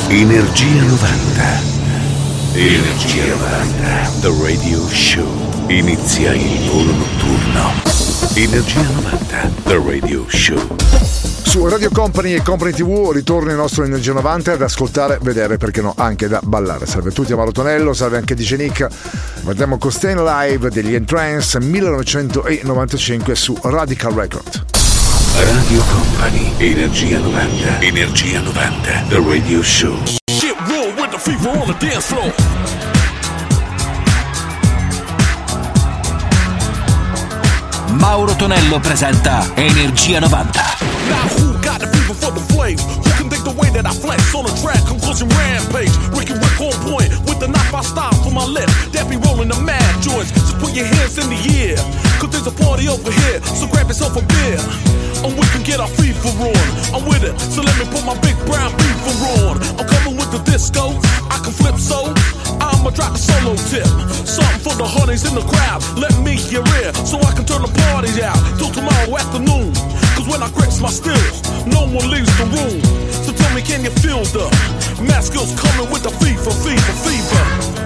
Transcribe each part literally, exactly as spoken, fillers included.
Energia novanta. Energia novanta. The Radio Show. Inizia il volo notturno. Energia novanta. The Radio Show. Su Radio Company e Company tivù ritorna il nostro Energia novanta ad ascoltare, vedere, perché no, anche da ballare. Salve a tutti, Amaro Tonello, salve anche D J Nick. Guardiamo Costain Live degli Entrance millenovecentonovantacinque su Radical Record. Radio Company, Energia novanta. Energia novanta, The Radio Show. Get real with the fever on the dance floor. Mauro Tonello presenta Energia novanta. Now who got the fever for the flames? Who can think the way that I flex on the track? Conclusion rampage. Ricky Rick on point with the knife I style for my left. That be rolling the mad joints. Just put your hands in the air, cause there's a party over here. So grab yourself a beer, and we can get our fever on. I'm with it, so let me put my big brown beaver on. I'm coming with the disco, I can flip so I'ma drop a solo tip. Something for the honeys in the crowd. Let me hear it, so I can turn the party out till tomorrow afternoon. Cause when I grips my stills, no one leaves the room. So tell me, can you feel the math skills coming with the fever, fever, fever?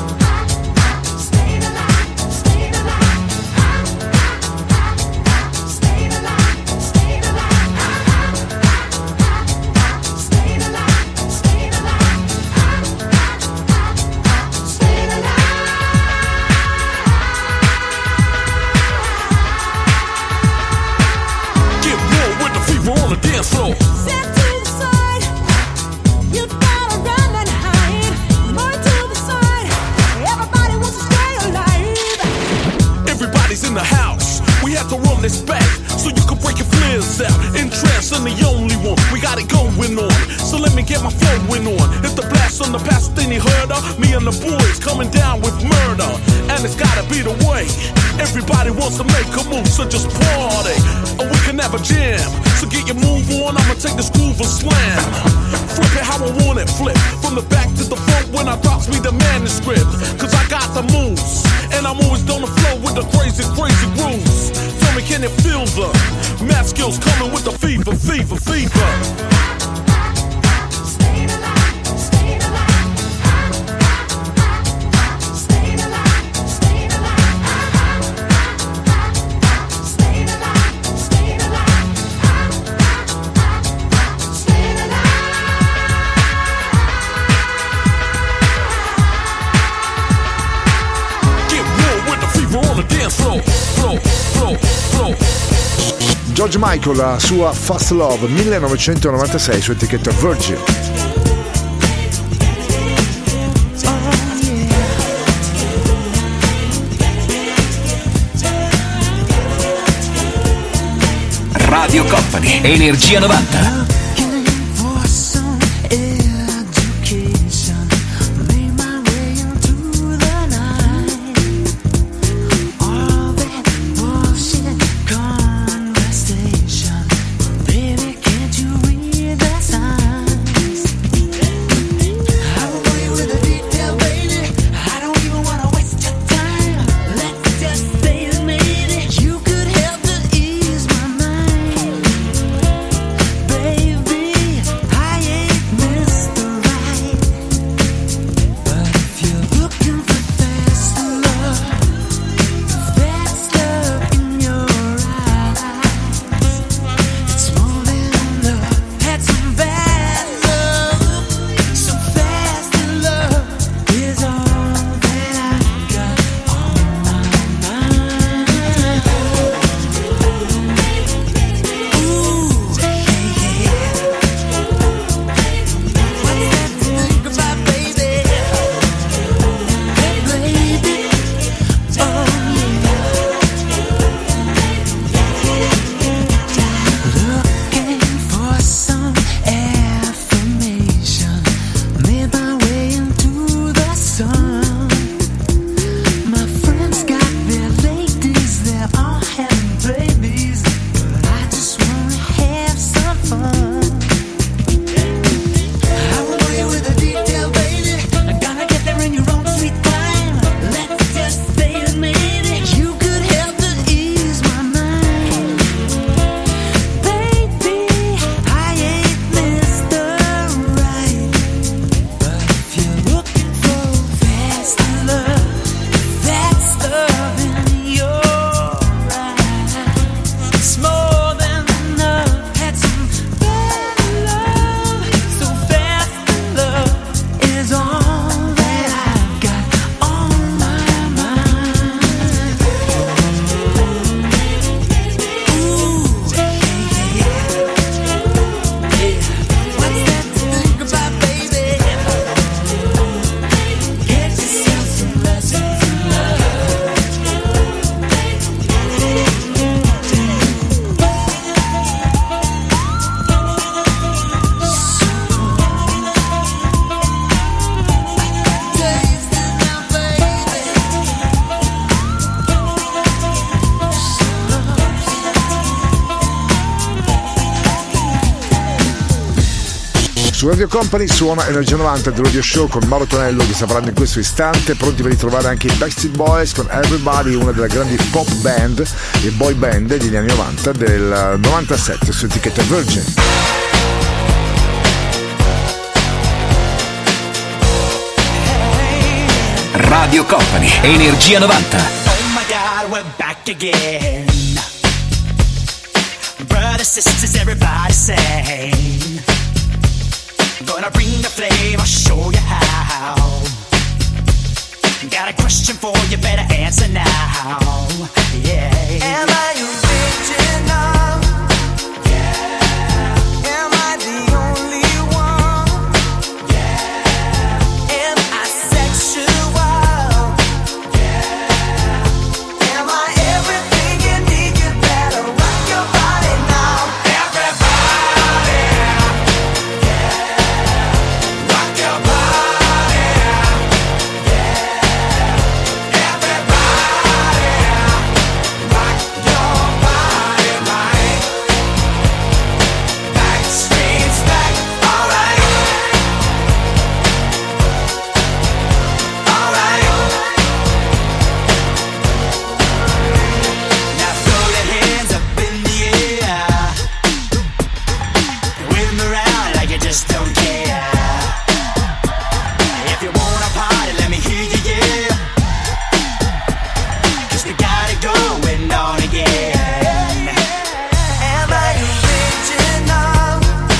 So just party, and we can have a jam. So get your move on, I'ma take this groove and slam. Flip it how I want it, flip from the back to the front when I drops me the manuscript. Cause I got the moves, and I'm always on the flow with the crazy, crazy grooves. Tell me, can you feel the math skills coming with the fever, fever, fever? George Michael, la sua Fast Love millenovecentonovantasei su etichetta Virgin. Radio Company, Energia novanta. Baby Su Radio Company suona Energia novanta del Radio Show con Mauro Tonello che sta parlando in questo istante, pronti per ritrovare anche i Backstreet Boys con Everybody, una delle grandi pop band e boy band degli anni novanta, del novantasette su etichetta Virgin. Radio Company, Energia novanta. Oh my God, we're back again. Brothers, sisters, everybody sing. Gonna bring the flame, I'll show you how. Got a question for you, better answer now. Yeah. Am I original? Yeah. Am I the only one? Yeah. Am I sexual? Yeah. Am I everything you need? You better rock your body now. Everybody. Yeah. Rock your body. Yeah. Everybody. Rock your body right. Backstreet's back. All right. All right. Now throw your hands up in the air. Wave 'em around like you just don't care. If you wanna party, let me hear you, yeah. 'Cause we got it going on again. Am I original?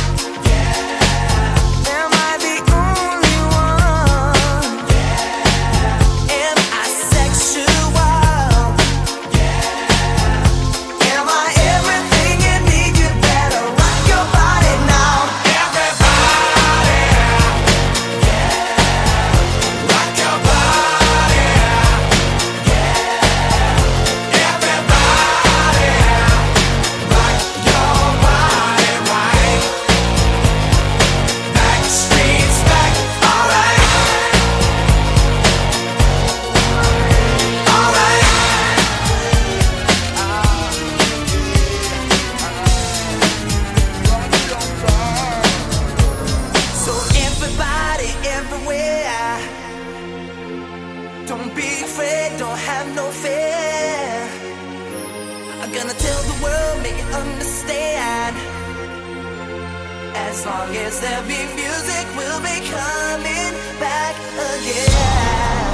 Yeah. Am I the only one? Yeah. Am I sexual? Yeah. Am I everything you need? You better rock your body now. Everybody. Yeah. Rock your body. Yeah. Everybody. Rock your body right. Backstreet's back. All right. All right. So everybody, everywhere, don't be afraid, don't have no fear. I'm gonna tell the world, make it understand. As long as there be music, we'll be coming back again.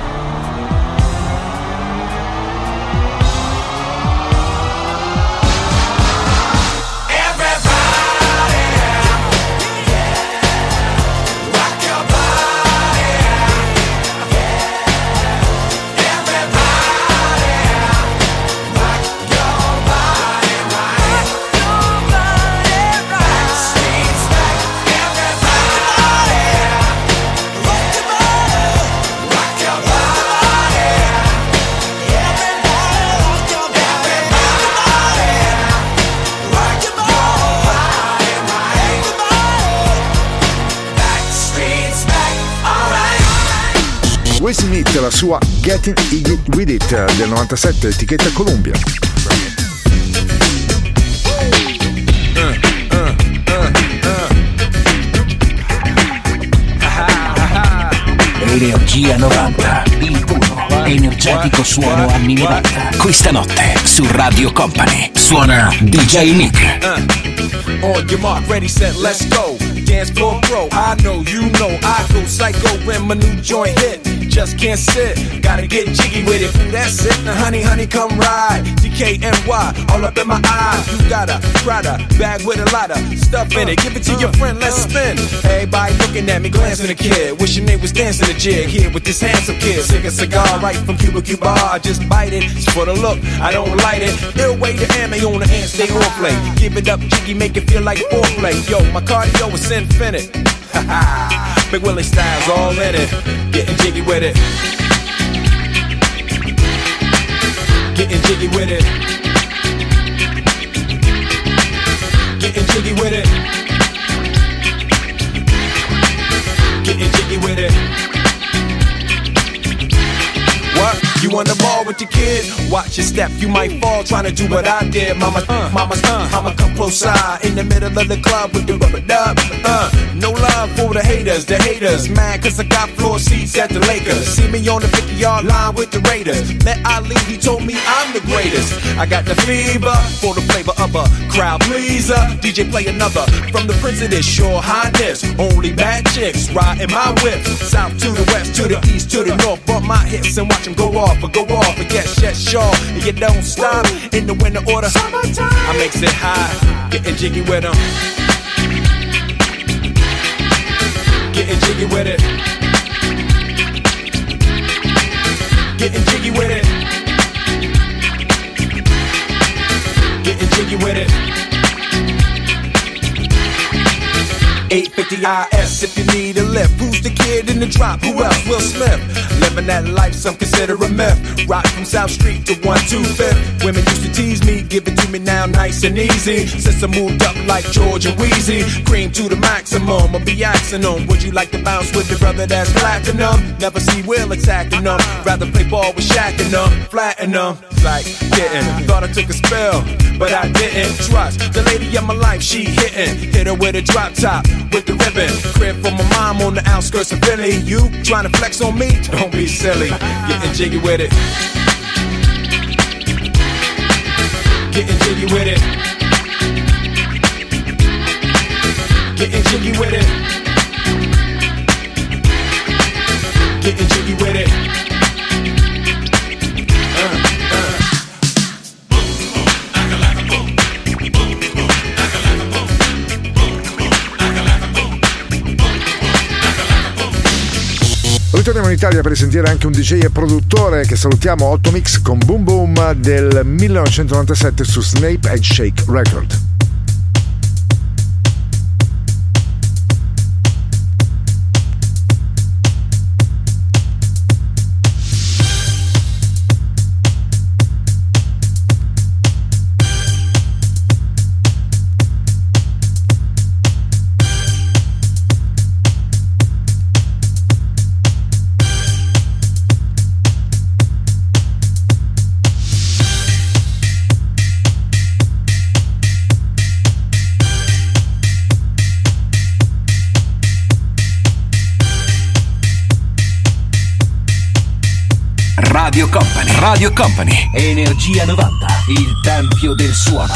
Everybody, rock your body. Everybody, rock your body right. Backstreet's back. Everybody, rock your body. Rock your body. Everybody, rock your body. Rock your body right. Backstreet's back. All right. Will Smith, la sua Getting Iggy With It del novantasette, etichetta Columbia. Energia novanta, il puro, energetico suono anni novanta. Questa notte su Radio Company suona D J Nick. On your mark, ready, set, let's go. Dance floor pro, I know, you know, I go psycho when my new joint hit. Just can't sit, gotta get jiggy with it. Ooh, that's it, now honey, honey, come ride. D K N Y, all up in my eyes. You got a Prada bag with a lot of stuff in it. Give it to your friend, let's spin. Everybody looking at me, glancing at the kid. Wishing they was dancing the jig here with this handsome kid. Sick a cigar right from Cuba Cuba. I just bite it, it's for the look, I don't light it. Ill way to ammo on the hand, stay on play. Give it up, jiggy, make it feel like foreplay. Yo, my cardio is infinite. Big Willie style's all in it. Getting jiggy with it. Getting jiggy with it. Getting jiggy with it. Getting jiggy with it. What? You on the ball with your kid? Watch your step, you might fall trying to do what I did. Mama, uh, mama, uh, I'ma come close side in the middle of the club with the rubber dub. Uh, no love. love for the haters, the haters. Mad cause I got floor seats at the Lakers. See me on the fifty-yard line with the Raiders. Met Ali, he told me I'm the greatest. I got the fever for the flavor of a crowd pleaser. D J play another from the Prince of this Shore Highness. Only bad chicks riding my whip. South to the west, to the east, to the north. Bump my hips and watch them go off, or go off. And yes, yes, sure, and you don't stop. In the winter order, summertime, I makes it high, getting jiggy with them. Getting jiggy with it. Getting jiggy with it. Getting jiggy with it. eight fifty I S if you need a lift. Who's the kid in the drop? Who else? Will Smith. Living that life some consider a myth. Rock from South Street to one two fifth. Women used to tease me, give it to me now nice and easy. Since I moved up like George and Wheezy, cream to the maximum, I'll be axing them. Would you like to bounce with the brother that's platinum? Never see Will attacking them. Rather play ball with Shaq and them, flatten them. Like getting, thought I took a spell, but I didn't trust the lady of my life. She hitting, hit her with a drop top with the ribbon. Crib for my mom on the outskirts of Philly. You trying to flex on me? Don't be silly. Getting jiggy with it. Getting jiggy with it. Getting jiggy with it. Getting jiggy with it. Ritorniamo in Italia per sentire anche un D J e produttore che salutiamo, Otto Mix con Boom Boom del millenovecentonovantasette su Snape and Shake Record. Radio Company, Radio Company, Energia novanta, il tempio del suono.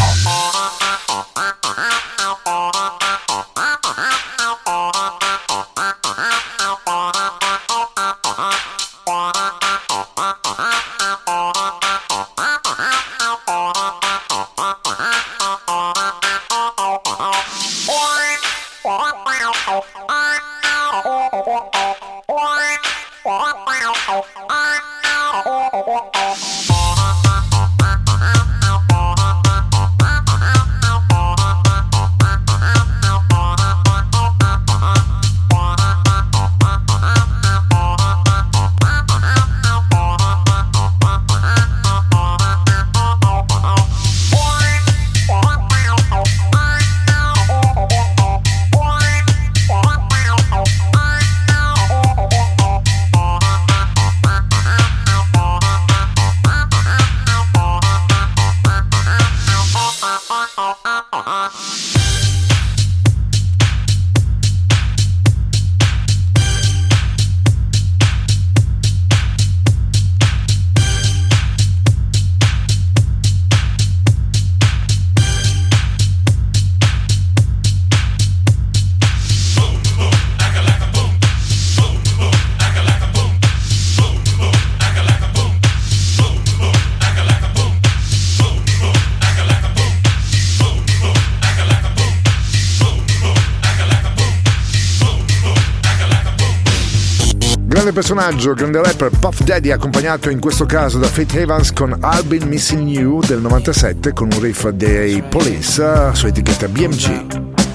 Personaggio, grande rapper Puff Daddy, accompagnato in questo caso da Faith Evans con I've Been Missing You del novantasette con un riff dei Police su etichetta B M G.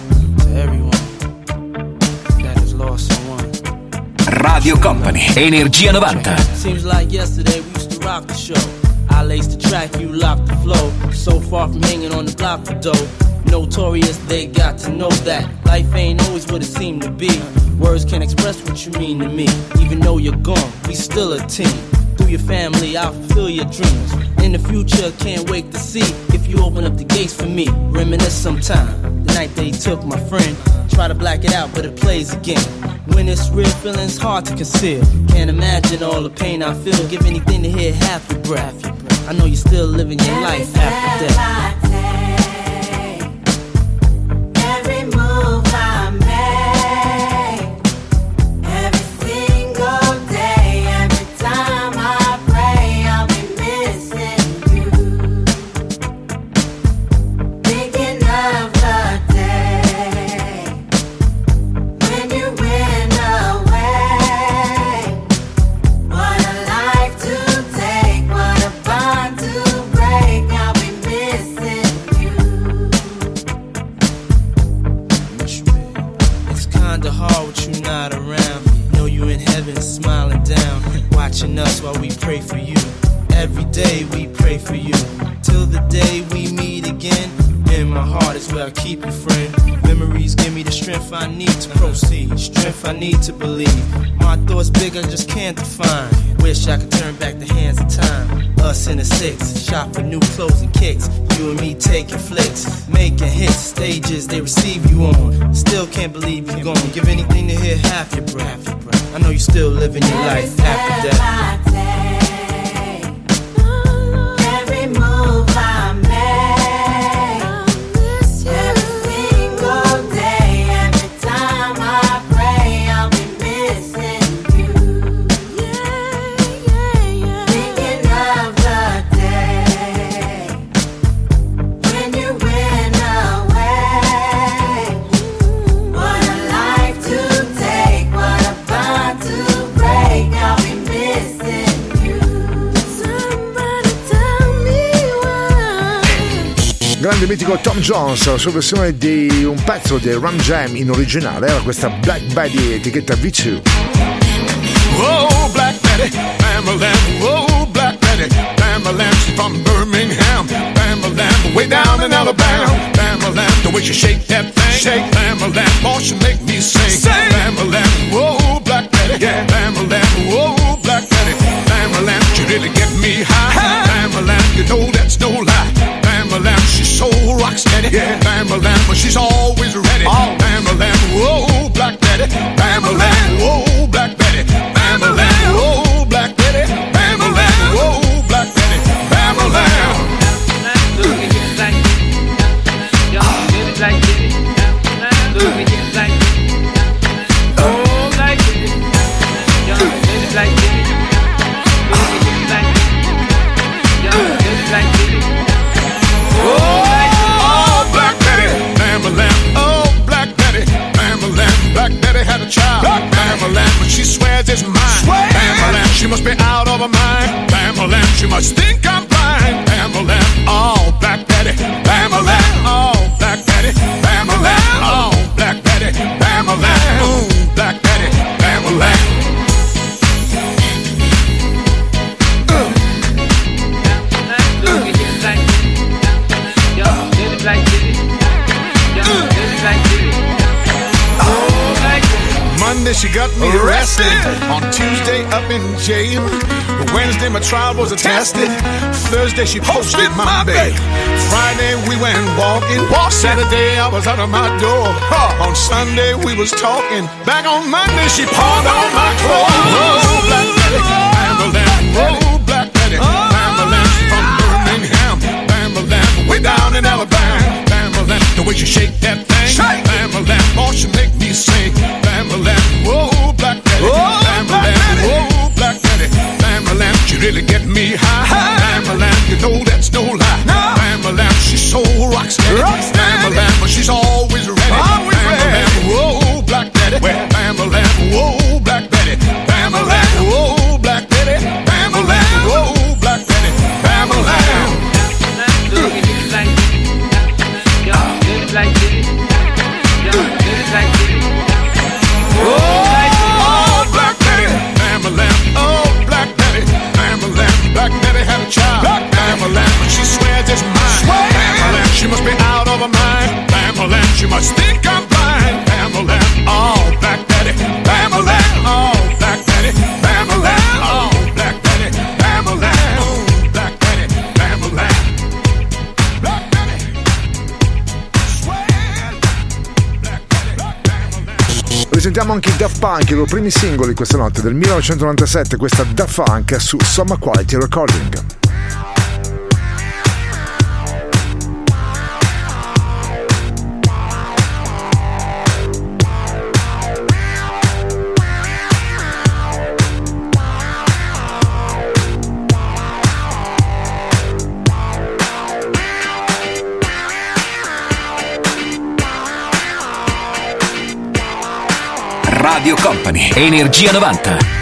Radio Company, Energia novanta. Seems like yesterday we used to rock the show. I laced the track, you locked the flow. So far from hanging on the block for dough. Notorious, they got to know that life ain't always what it seemed to be. Words can't express what you mean to me. Even though you're gone, we still a team. Through your family, I'll fulfill your dreams. In the future, can't wait to see if you open up the gates for me. Reminisce sometime. The night they took my friend. Try to black it out, but it plays again. When it's real, feeling's hard to conceal. Can't imagine all the pain I feel. Give anything to hear half your breath. I know you're still living your life after death. Every move I make, every single day, every time I pray, I'll be missing you. Thinking of the day when you went away. What a life to take, what a bond to break. I'll be missing you. It's kinda hard with you not around. Know you in heaven smiling down, watching us while we pray for you. Every day we pray for you, till the day we meet again. In my heart is where I keep you, friend. Memories give me the strength I need to proceed, strength I need to believe. My thoughts big, I just can't define. Wish I could turn back the hands of time. Us in the six, shop for new clothes and kicks. You and me taking flicks, making hits, stages they receive you on. Still can't believe you're gone. Give anything to hear half your breath. I know you're still living your life after death. Every move I make, every single day, every time I pray, I'll be missing you. Thinking of the day when you went away. What a life to take, what a bond to break. I'll be missing you. Somebody tell me why. Grande mitico Tom Jones, la sua versione di un pezzo di Ram Jam in originale era questa Black Betty etichetta V due. Whoa, Black Betty, Bam-a-lam, whoa, Black Betty, Bam-a-lam, she's from Birmingham, Bam-a-lam, way down in Alabama, Bam-a-lam, the way she shake that thing, shake, Bam-a-lam, oh, she make me sing, sing. Bam-a-lam, whoa, Black Betty, yeah, Bam-a-lam, whoa, Black Betty, Bam-a-lam, she really get me high, Bam-a-lam, you know that's no lie, Bam-a-lam, she's so rock steady, yeah, Bam-a-lam, but she's always ready, oh. Bam-a-lam, whoa, Black Betty, Bam-a-lam, whoa, Black Betty, Bam-a-lam, whoa, Black Betty, Bam-a-lam, whoa, Black Betty, Bam-a-lam. Oh, Black Betty, Bam-a-lam, oh, Black Betty, Bam-a-lam, Black Betty had a child, Bam-a-lam, but she swears it's mine, Bam-a-lam, she must be out of her mind, Bam-a-lam, she must think I'm blind, Bam-a-lam, oh, Black Betty, Bam-a-lam, oh, Black Betty, Bam-a-lam, oh, Black Betty, Bam-a-lam, ooh, Black Betty, Bam-a-lam. Monday she got me arrested, on Tuesday up in jail, Wednesday my trial was attested, Thursday she posted my bail, Friday we went walking, Saturday I was out of my door, on Sunday we was talking, back on Monday she pawned all my clothes. Oh, Black Betty, Bam-a-lam, oh, Black Betty, Bam-a-lam, she's from Birmingham, Bam-a-lam, way down in Alabama, Bam-a-lam, the way she shake that thing, Bam-a-lam, oh, she make me sing, Bam-a-lam, whoa, Black Betty, Bam-a-lam, whoa, Black Betty, Bam-a-lam, she really get me high, Bam-a-lam, you know that's no lie, Bam-a-lam, she's so rock steady, Bam-a-lam, but she's always ready, Bam-a-lam, whoa, Black Betty, Bam-a-lam, whoa, Black Betty, Bam-a-lam, whoa, Black Betty, Bam-a-lam, whoa, Black Betty, Bam-a-lam. Oh, Black Betty, Bam-a-lam, oh, Black Betty, Bam-a-lam, Black Betty had a child, Bam-a-lam, but she swears it's mine, Bam-a-lam, she must be out of her mind, Bam-a-lam, she must think I'm blind, Bam-a-lam, oh, Black Betty, Bam-a-lam, oh, Black Betty, Bam-a-lam, oh, Black Betty, Bam-a-lam, oh, Black Betty, Bam-a-lam, Black Betty, swear. Presentiamo anche i Daft Punk, i loro primi singoli questa notte del millenovecentonovantasette, questa Daft Punk su Soma Quality Recording. Radio Company, Energia novanta.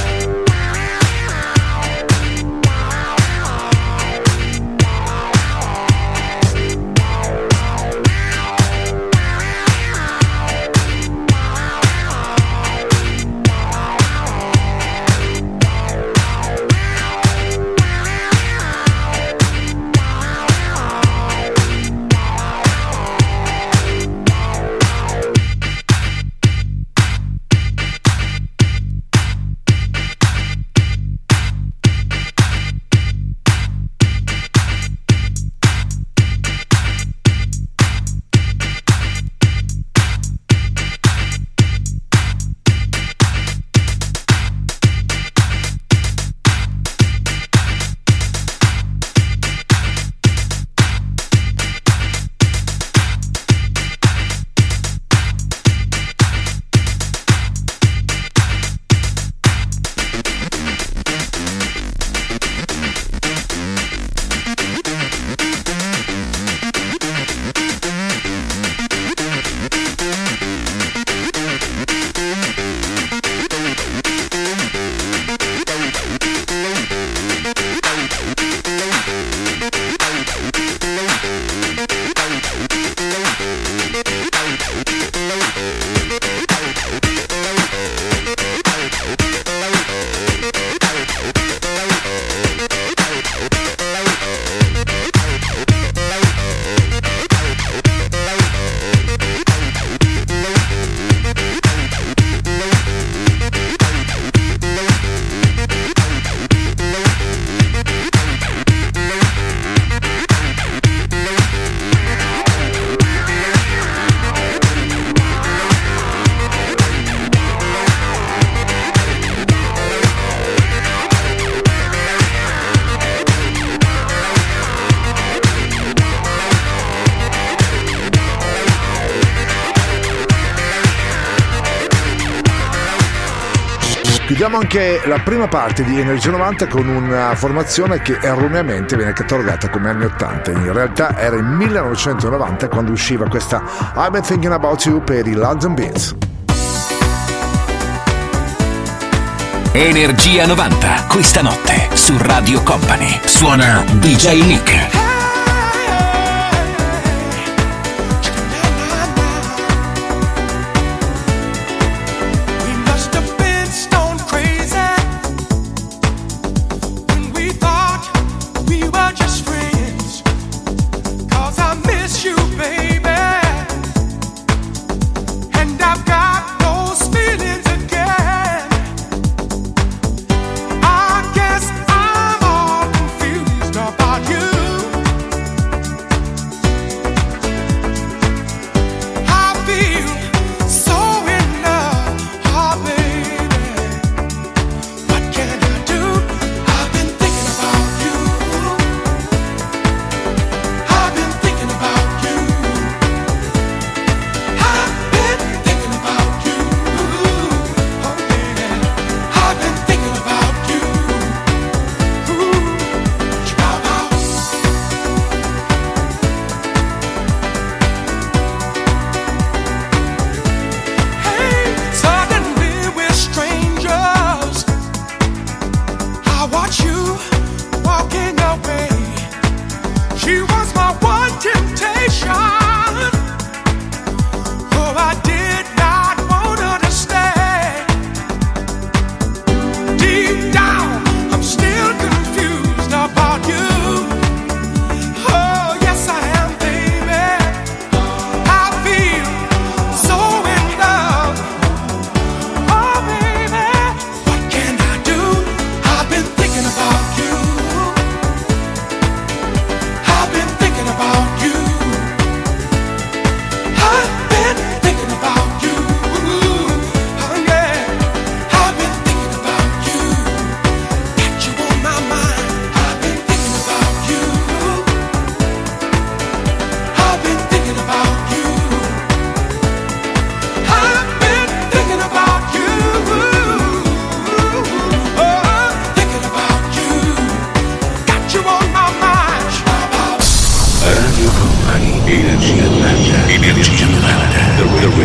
Chiudiamo anche la prima parte di Energia novanta con una formazione che erroneamente viene catalogata come anni ottanta. In realtà era il millenovecentonovanta quando usciva questa I've Been Thinking About You per i London Beats. Energia novanta, questa notte su Radio Company. Suona D J Nick. I guess I'm all confused about you.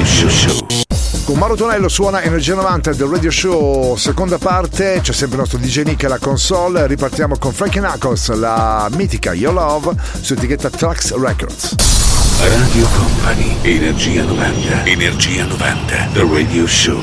Radio Show. Con Mauro Tonello suona Energia novanta del Radio Show, seconda parte, c'è sempre il nostro D J Nick alla console, ripartiamo con Frankie Knuckles, la mitica Your Love su etichetta Trax Records. Radio Company, Energia novanta, Energia novanta, The Radio Show.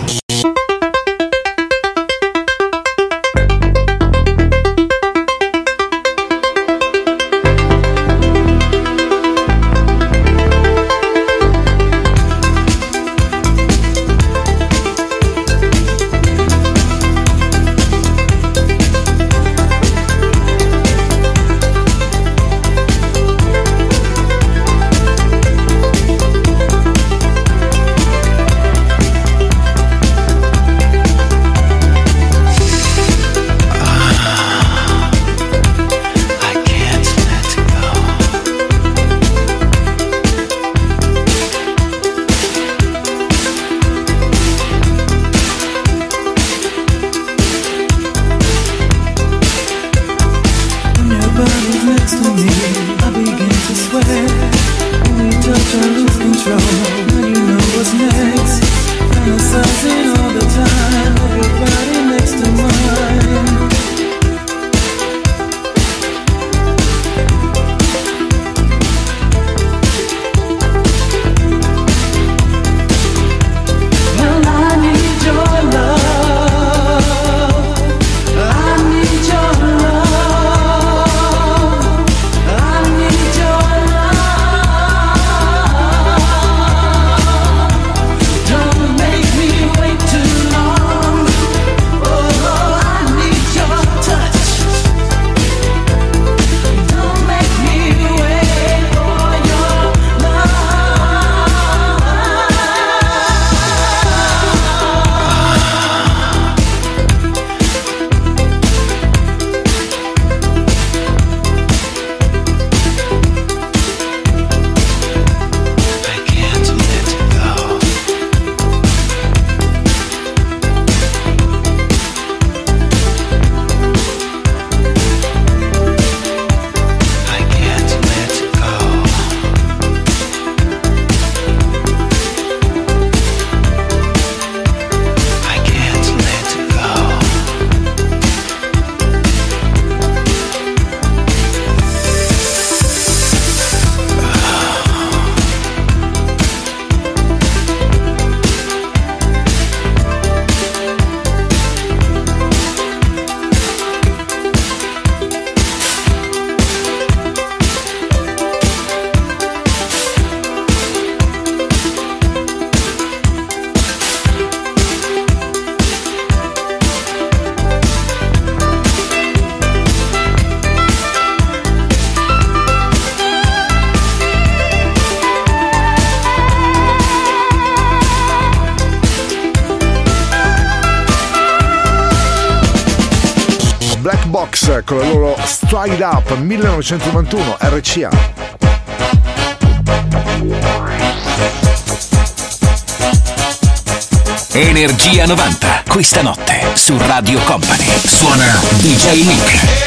Con la loro Stride Up millenovecentonovantuno R C A. Energia novanta, questa notte su Radio Company suona D J Nick.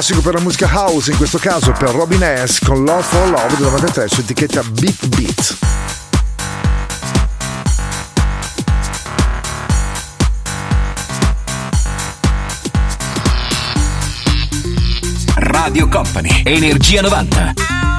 classico per la musica house, in questo caso per Robin S. con Love for Love del novantatré su etichetta Beat Beat. Radio Company, Energia novanta.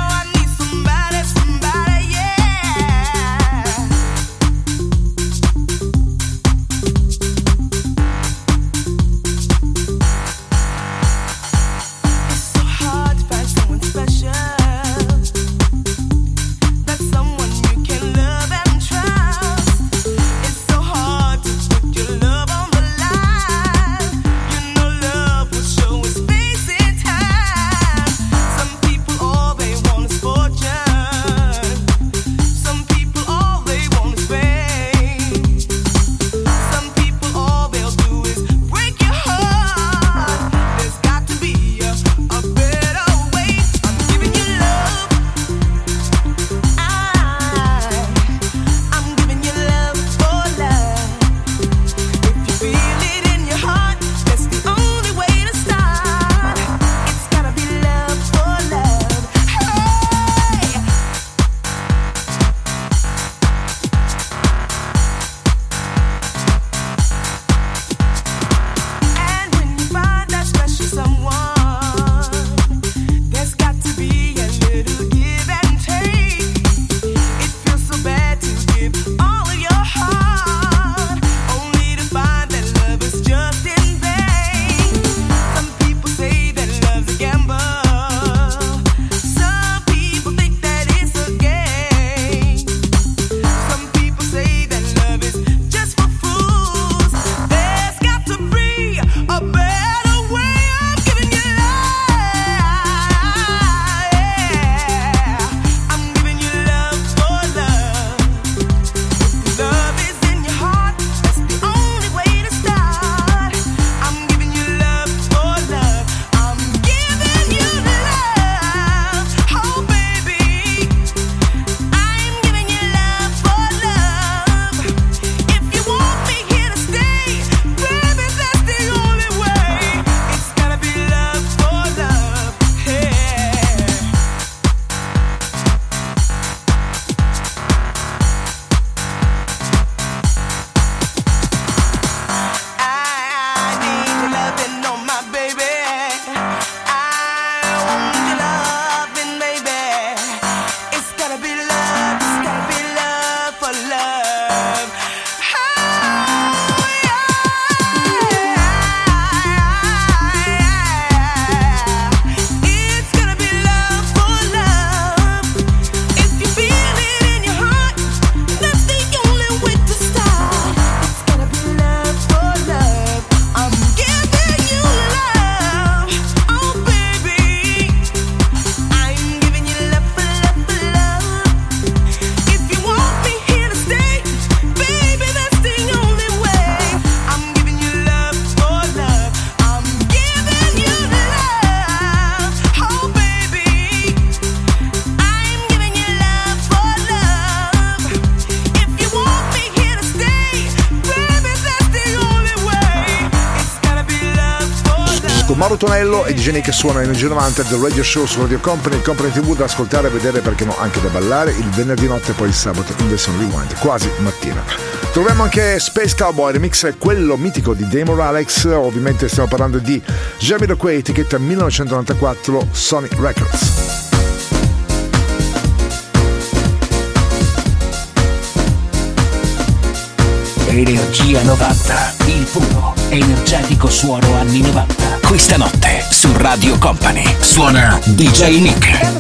Mauro Tonello e D J Nick suona Energia novanta del Radio Show su Radio Company, Company tivù da ascoltare e vedere, perché no, anche da ballare il venerdì notte e poi il sabato in versione rewind, quasi mattina. Troviamo anche Space Cowboy, remix quello mitico di Damon Alex, ovviamente stiamo parlando di Jamiroquai, etichetta millenovecentonovantaquattro Sony Records. Energia novanta, il puro, energetico suono anni novanta. Questa notte su Radio Company suona D J Nick.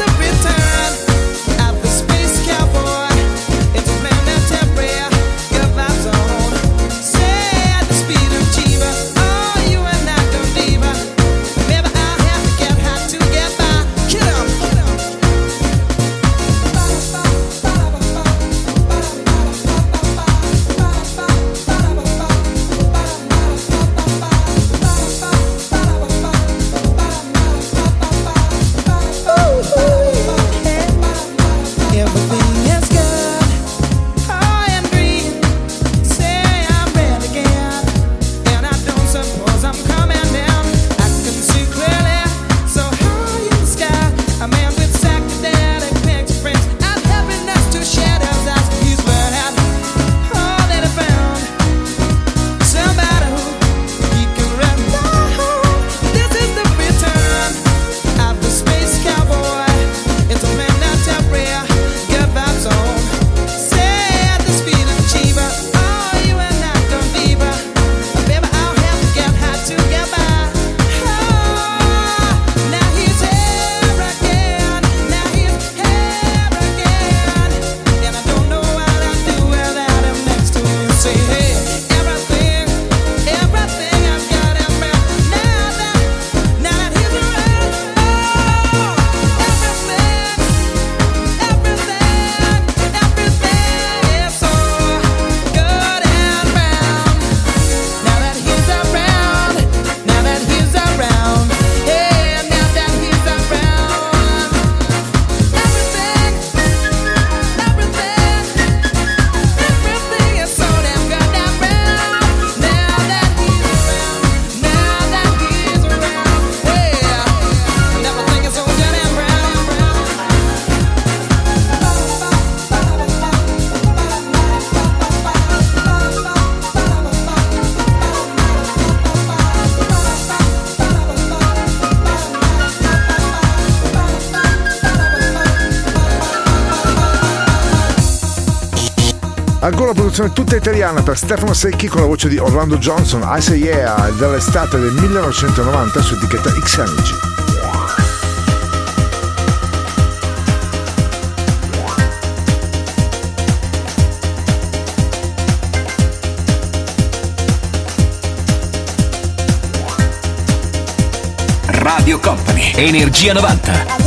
This is the return of the space cowboy. It's a man that temporary. Ancora una produzione tutta italiana per Stefano Secchi con la voce di Orlando Johnson, I Say Yeah, dell'estate del millenovecentonovanta su etichetta X Energy. Radio Company, Energia novanta.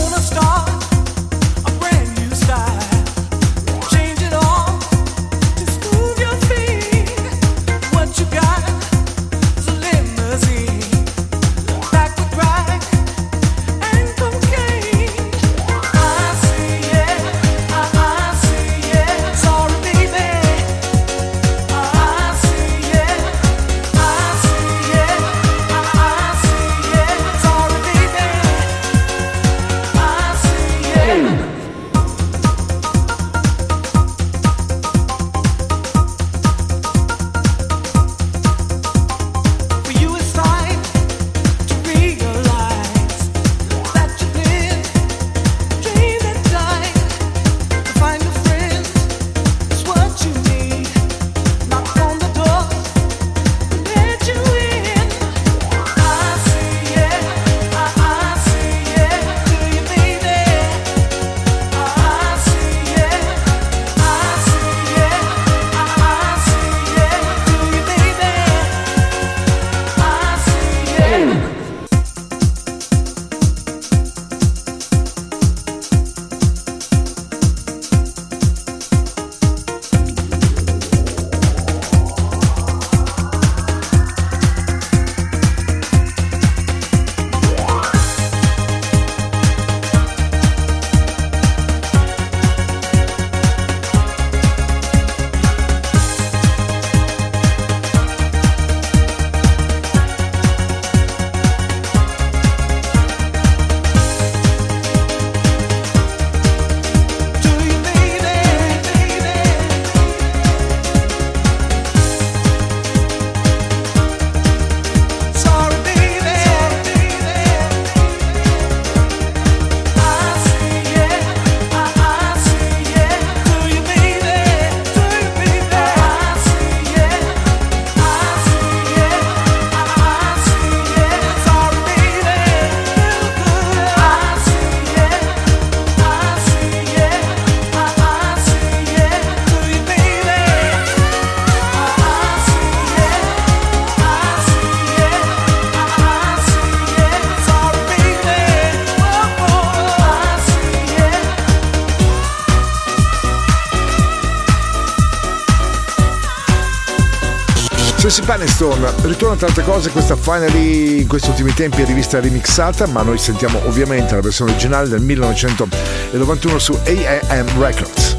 Tracy Peniston ritorna tante cose, questa finally in questi ultimi tempi è rivista remixata, ma noi sentiamo ovviamente la versione originale del millenovecentonovantuno su A M Records.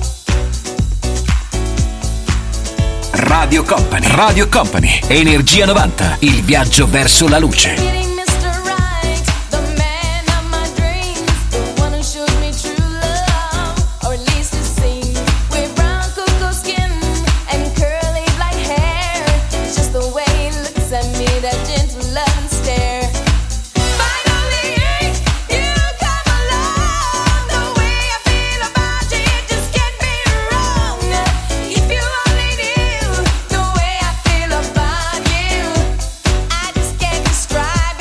Radio Company, Radio Company, Energia novanta, il viaggio verso la luce. Describe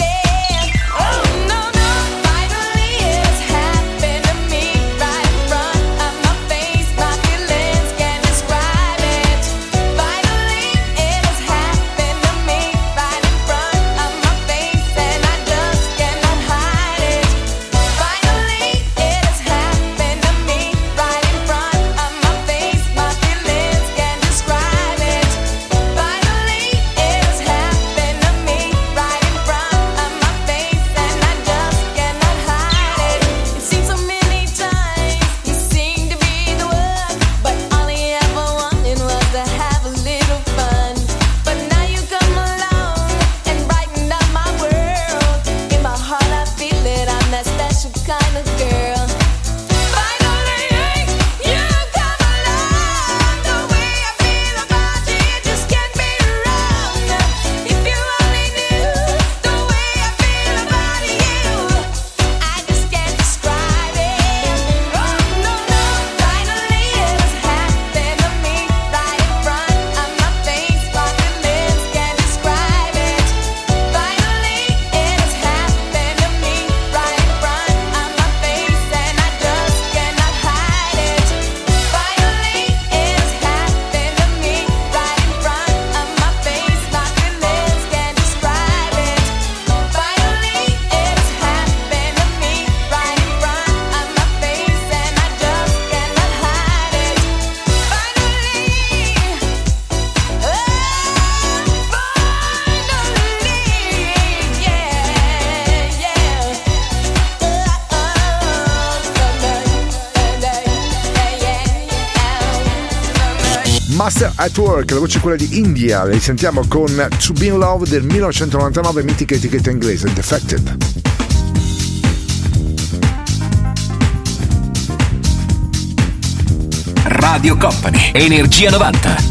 Master at Work, la voce è quella di India, li sentiamo con To Be in Love del millenovecentonovantanove, mitica etichetta inglese, Defected. Radio Company, Energia novanta.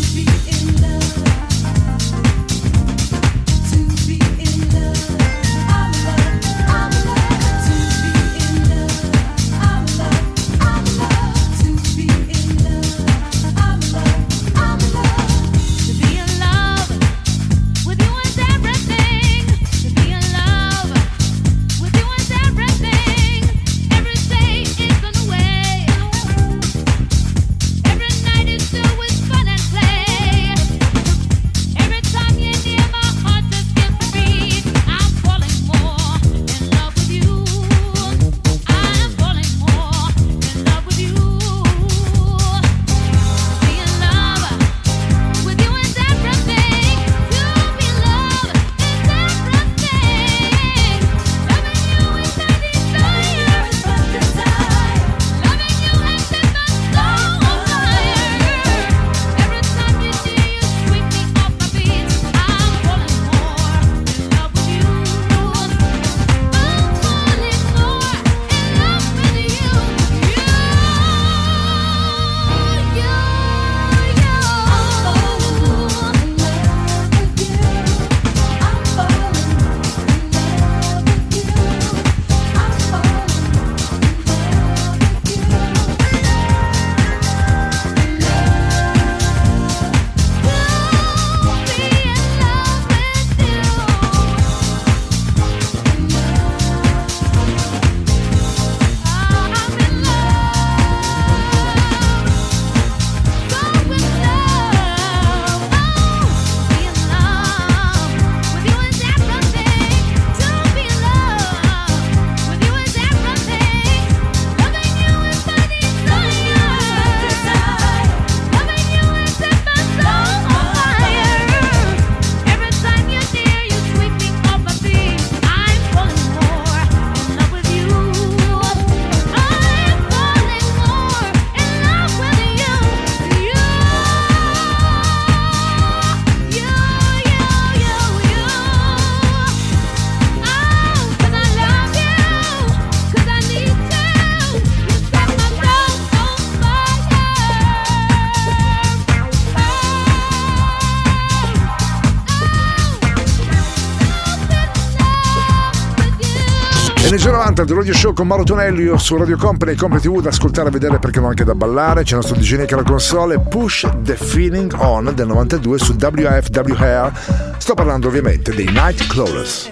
Energia novanta del Radio Show con Mauro Tonelli su Radio Company e Company tivù, da ascoltare, vedere, perché no anche da ballare. C'è il nostro D J Nick alla console. Push the Feeling On del novantadue su W F W Air. Sto parlando ovviamente dei Nightcrawlers.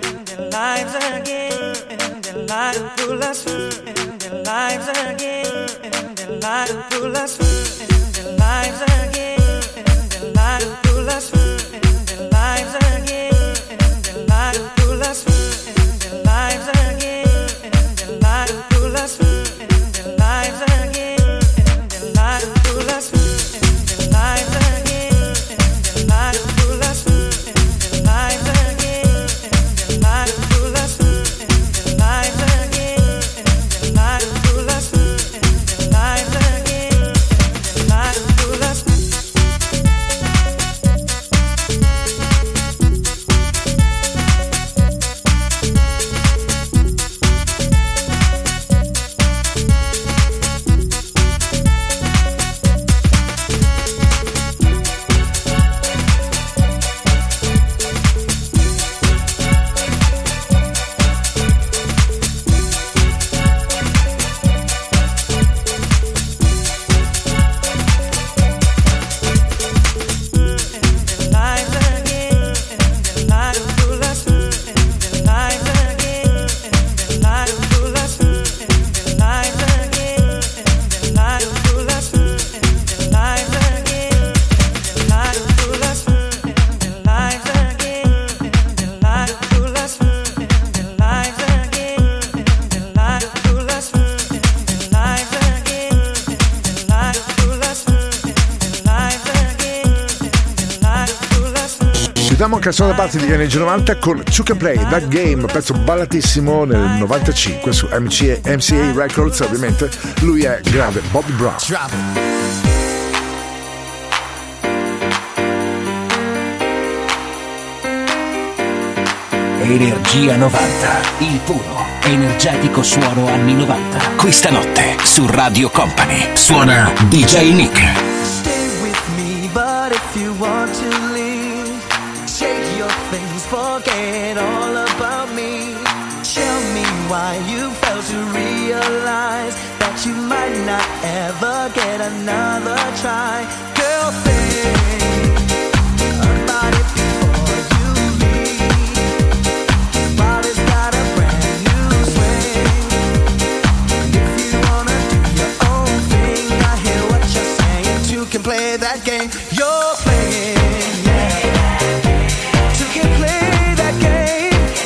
Chiudiamo canzone da parte di Energia novanta con You Can Play That Game, pezzo ballatissimo nel novantacinque su M C A, M C A Records, ovviamente. Lui è grande Bobby Brown. Energia novanta, il puro, energetico suono anni novanta. Questa notte su Radio Company suona D J Nick. Stay with me, but if you want to leave, shake your things, forget all about me. Tell me why you failed to realize that you might not ever get another try. Girl, think about it before you leave. Body's got a brand new swing. If you wanna do your own thing, I hear what you're saying. Two can play that game you're playing, yeah. Two can play that game.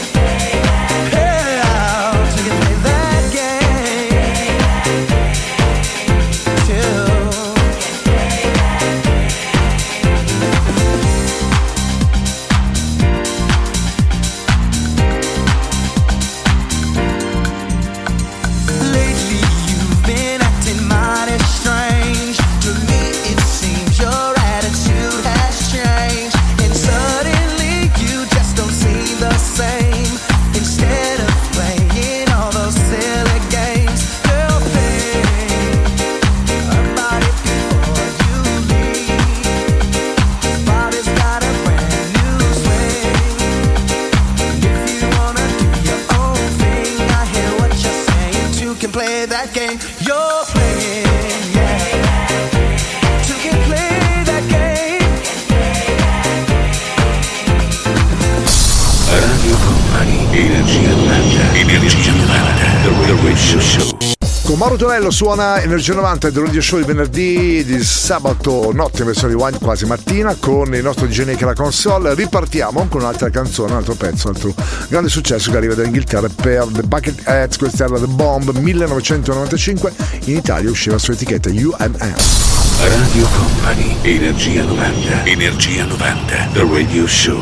Con Mauro Tonello suona Energia novanta del Radio Show di venerdì, di sabato notte in versione rewind, quasi mattina, con il nostro D J Nick alla console. Ripartiamo con un'altra canzone, un altro pezzo, un altro grande successo che arriva dall'Inghilterra per The Bucketheads. Questa era The Bomb millenovecentonovantacinque, in Italia usciva su etichetta U M M. Radio Company, Energia novanta, Energia novanta, The Radio Show.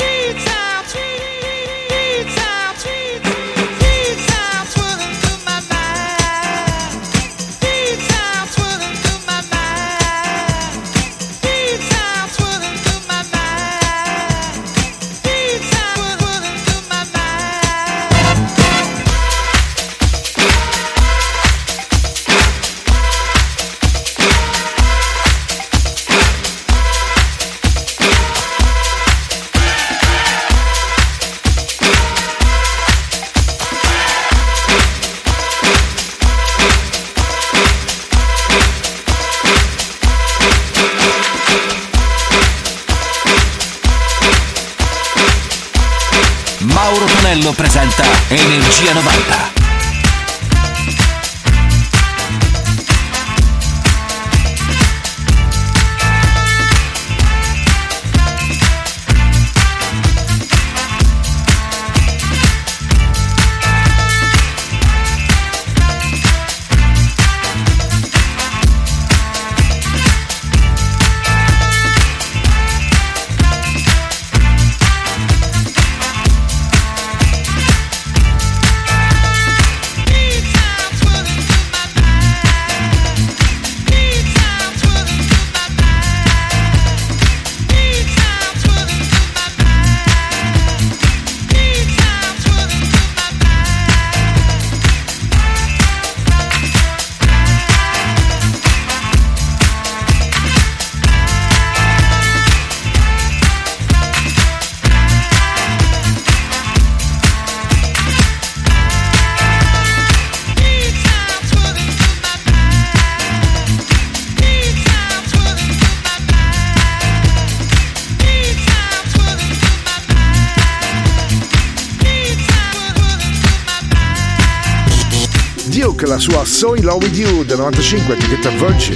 Mauro Tonello presenta Energia novanta. Duke, la sua So In Love With You del novantacinque, etichetta Virgin.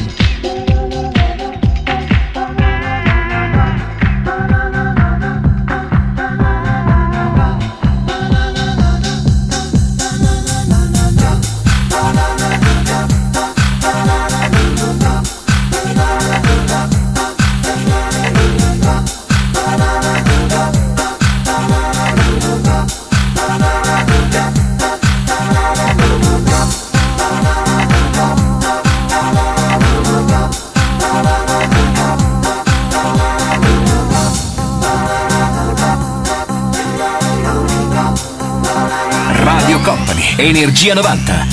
Love Energia novanta.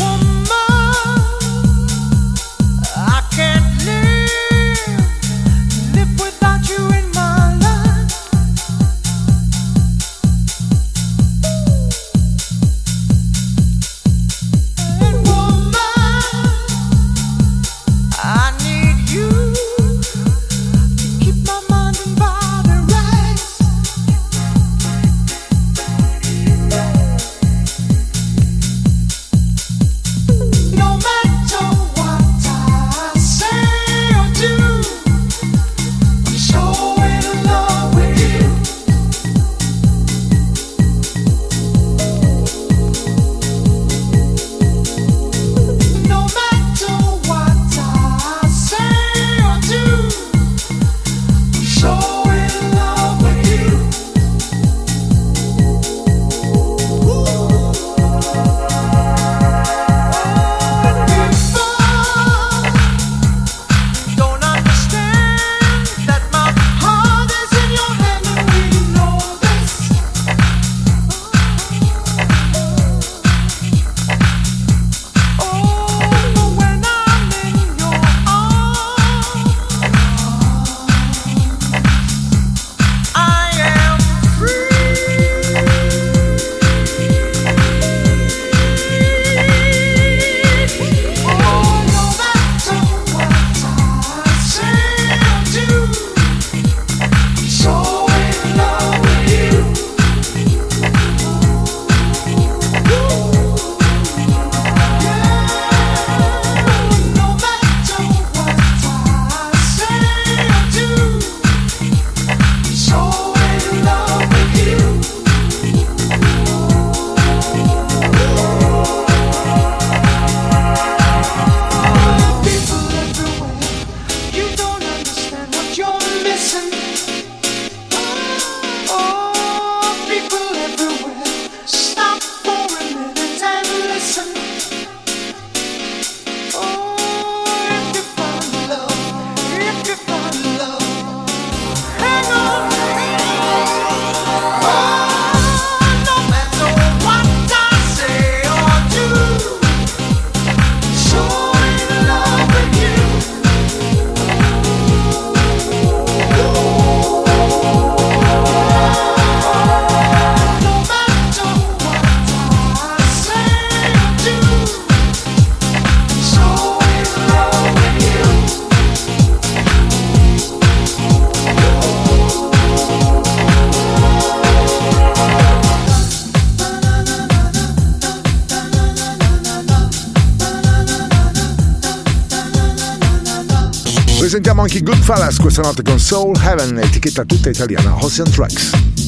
Presentiamo anche i Goodfellas questa notte con Soul Heaven, etichetta tutta italiana, Ocean Tracks.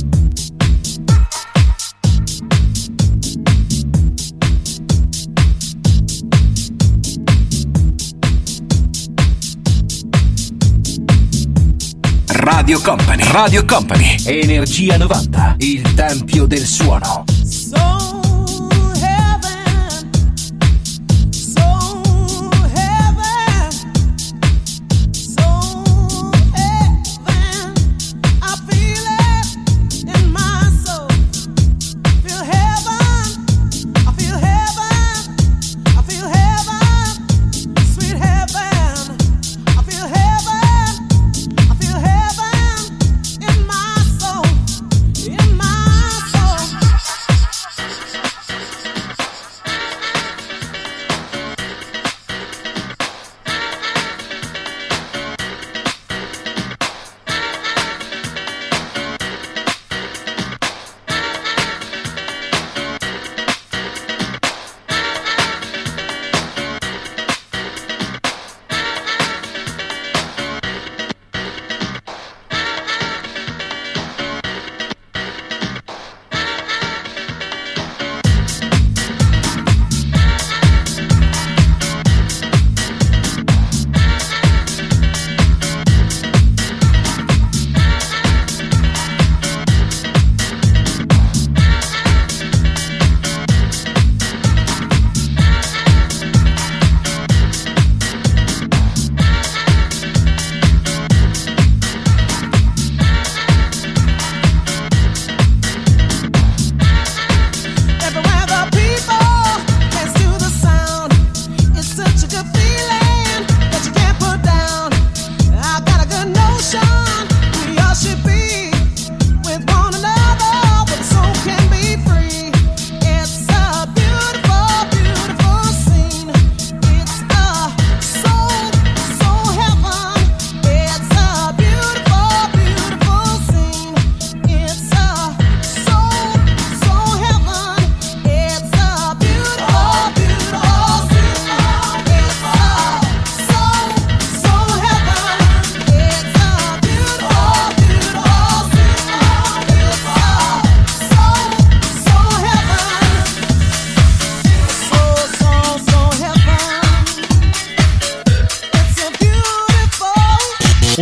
Radio Company, Radio Company, Energia novanta, il tempio del suono.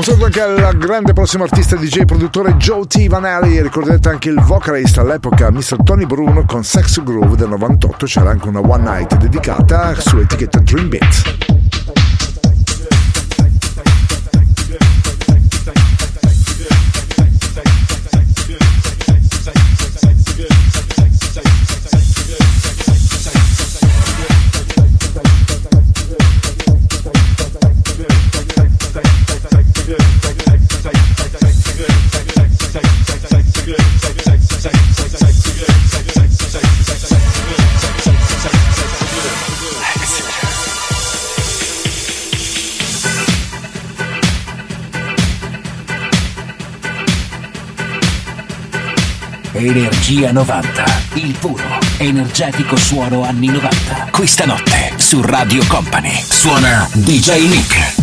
saluto anche al grande prossimo artista D J e produttore Joe T. Vanelli. Ricordate anche il vocalist all'epoca mister Tony Bruno con Sex Groove del novantotto. C'era anche una One Night dedicata su etichetta Dream Beat. Energia novanta, il puro, energetico suono anni novanta. Questa notte su Radio Company suona D J Nick.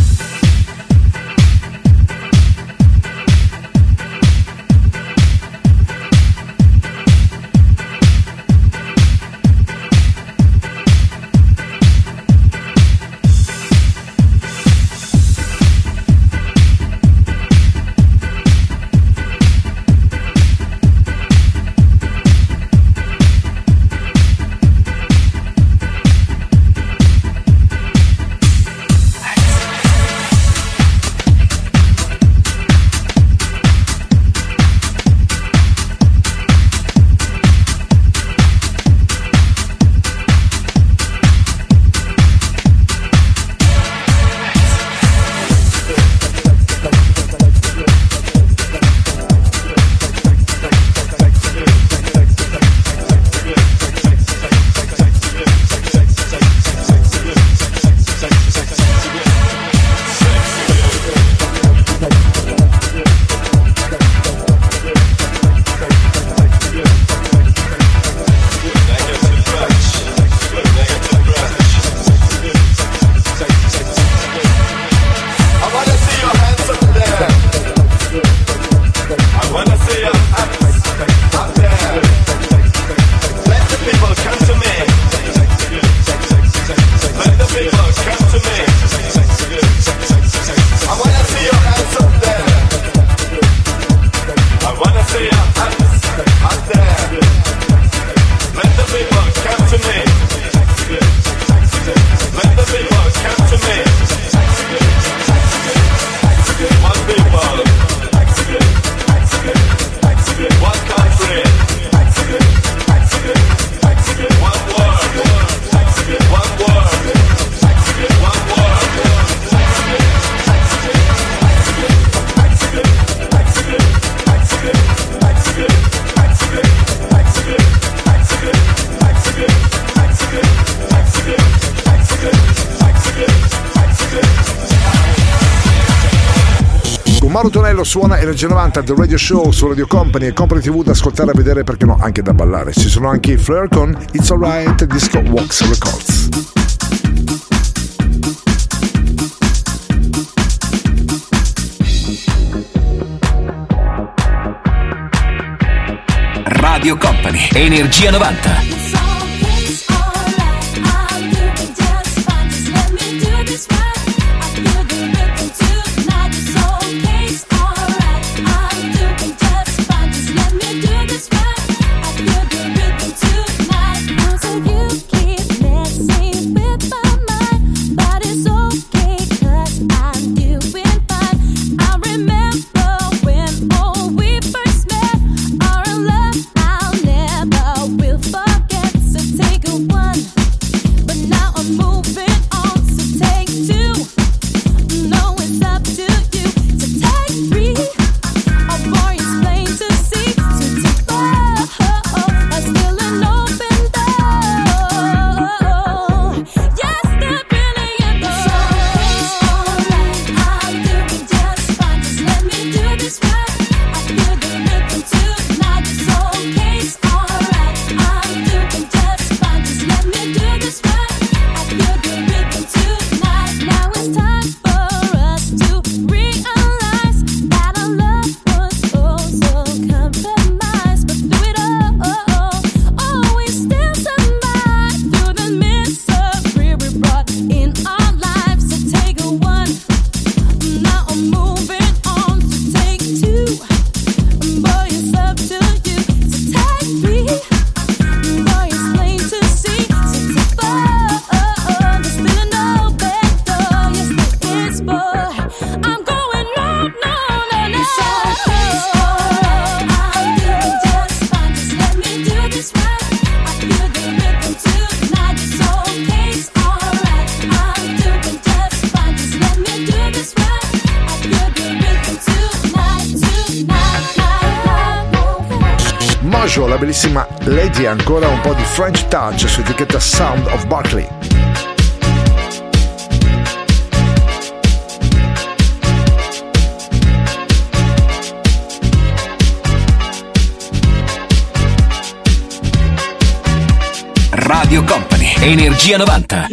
Mauro Tonello suona Energia novanta del Radio Show su Radio Company e Company tivù da ascoltare, a vedere, perché no, anche da ballare. Ci sono anche i Flare con It's Alright Disco Wax Records. Radio Company, Energia novanta. Forget Jojo, la bellissima Lady, ancora un po' di French Touch su etichetta Sound of Barkley. Radio Company, Energia novanta.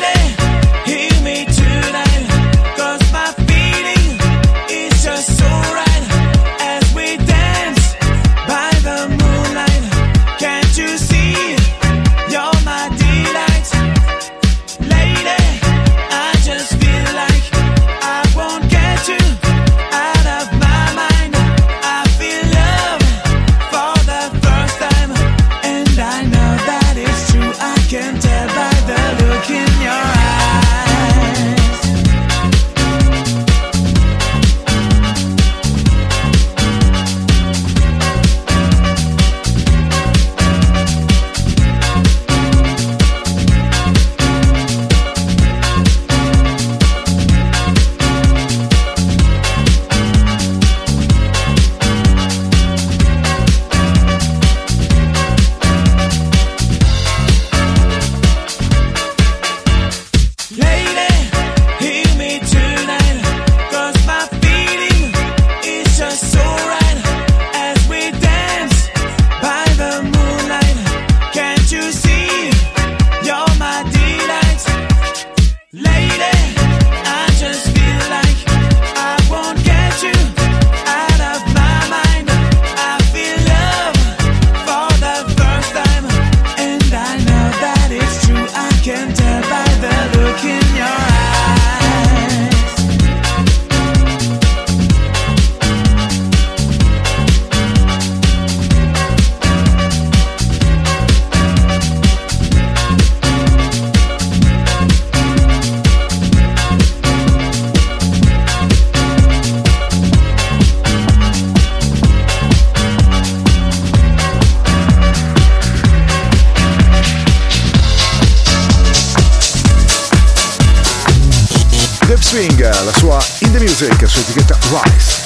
Swing, la sua In The Music su etichetta Rise.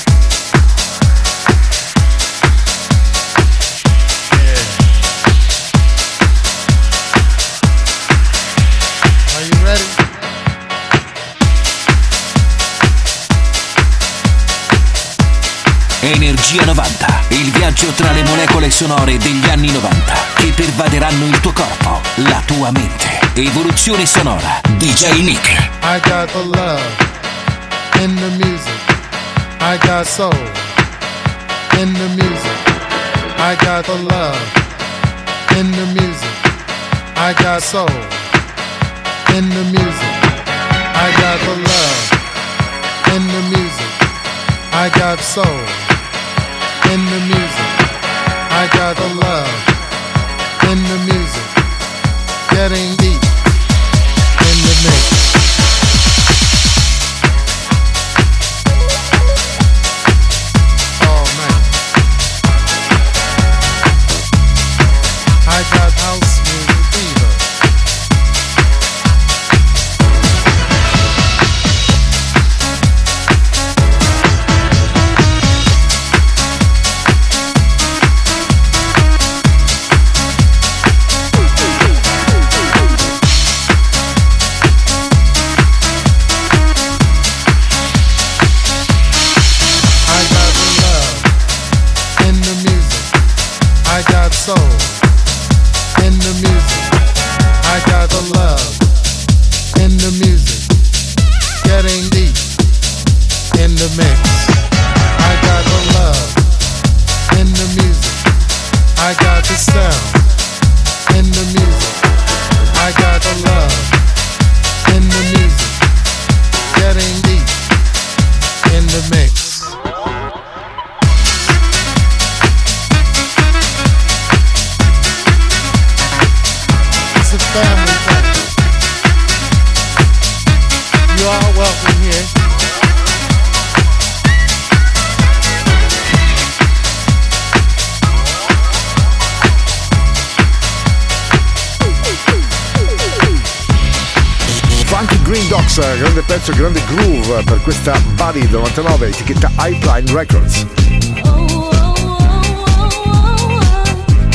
Are you ready? Energia novanta, il viaggio tra le molecole sonore degli anni novanta che pervaderanno il tuo corpo, la tua mente. Evoluzione sonora, D J Nick. I got the love in the music. I got soul in the music. I got the love in the music. I got soul in the music. I got the love in the music. I got soul in the music. I got the love in the music. Getting deep in the mix. Oh man, I got house music fever. Soul in the music. I got the love in the music. Getting deep in the mix. I got the love in the music. I got the sound in the music. I got the love in the music. Getting deep in the mix. Family friends. You are welcome here. Funky Green Dogs, grande pezzo, grande groove per questa Body etichetta Highline Records.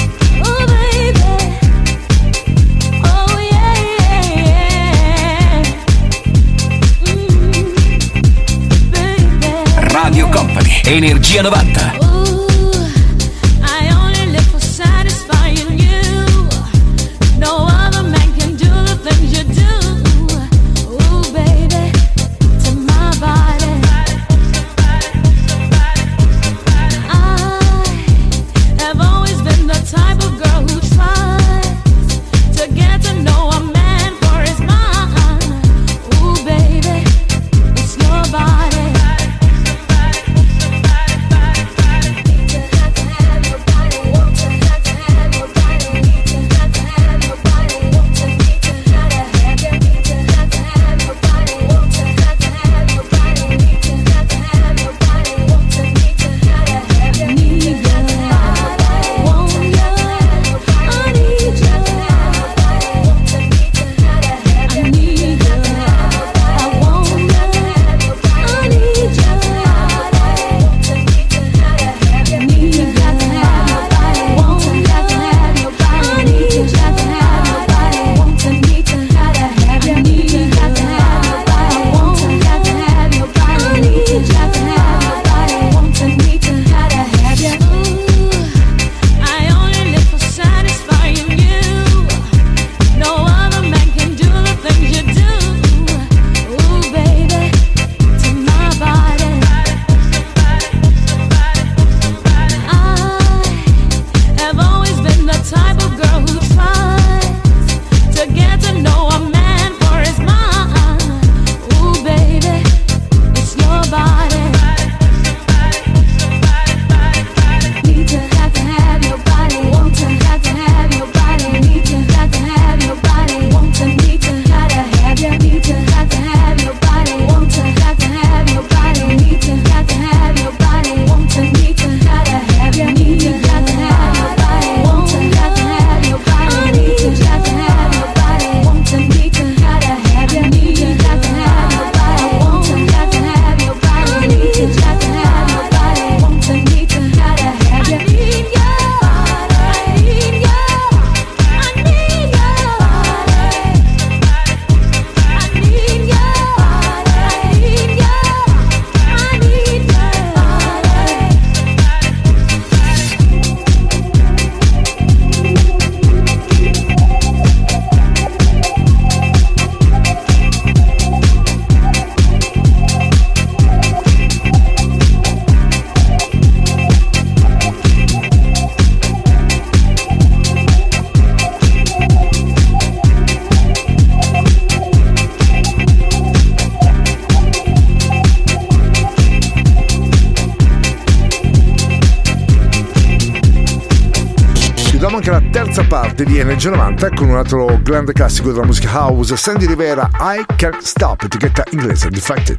chiudiamo anche la terza parte di Energia novanta con un altro grande classico della musica house, Sandy Rivera, I Can't Stop, etichetta inglese Defected.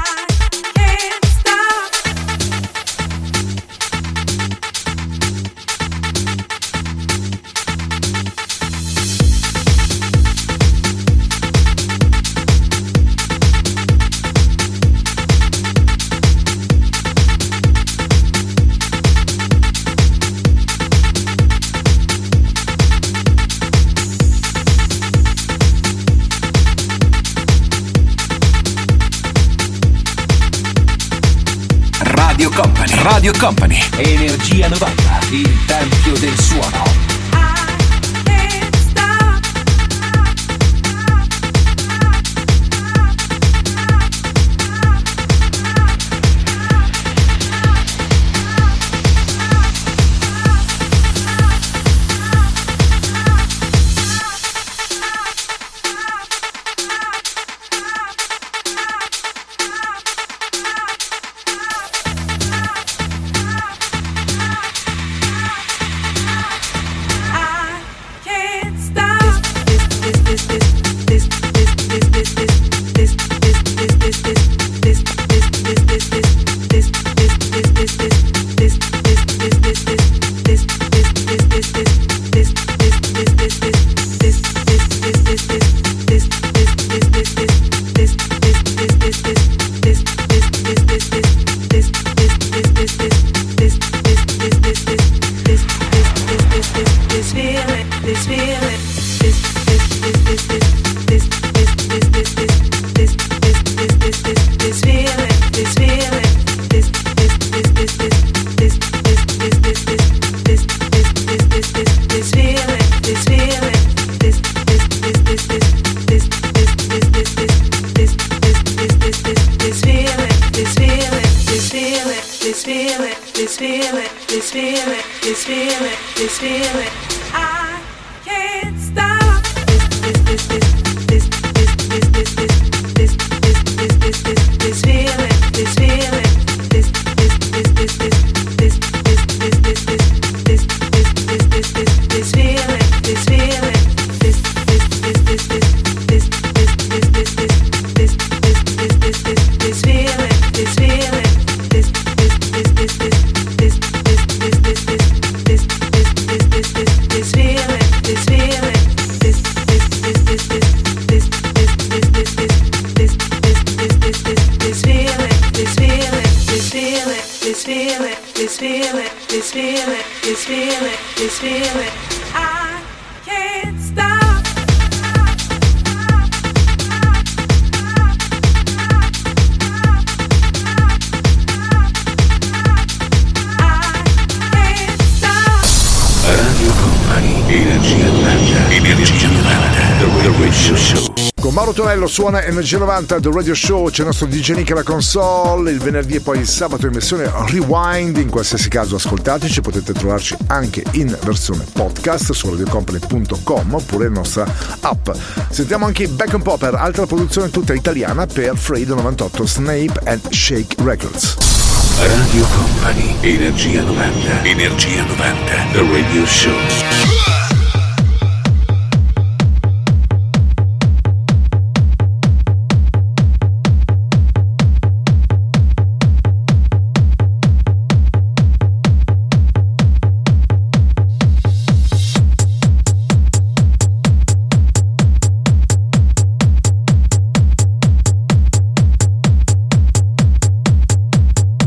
Radio Company, Radio Company, Energia novanta, il tempio del suono. Mauro Tonello suona Energia novanta The Radio Show, c'è il nostro D J Nick alla console, il venerdì e poi il sabato in versione rewind. In qualsiasi caso ascoltateci, potete trovarci anche in versione podcast su radio company punto com oppure la nostra app. Sentiamo anche Back and Popper, altra produzione tutta italiana per Fredo novantotto Snape and Shake Records. Radio Company, Energia novanta, Energia novanta The Radio Show.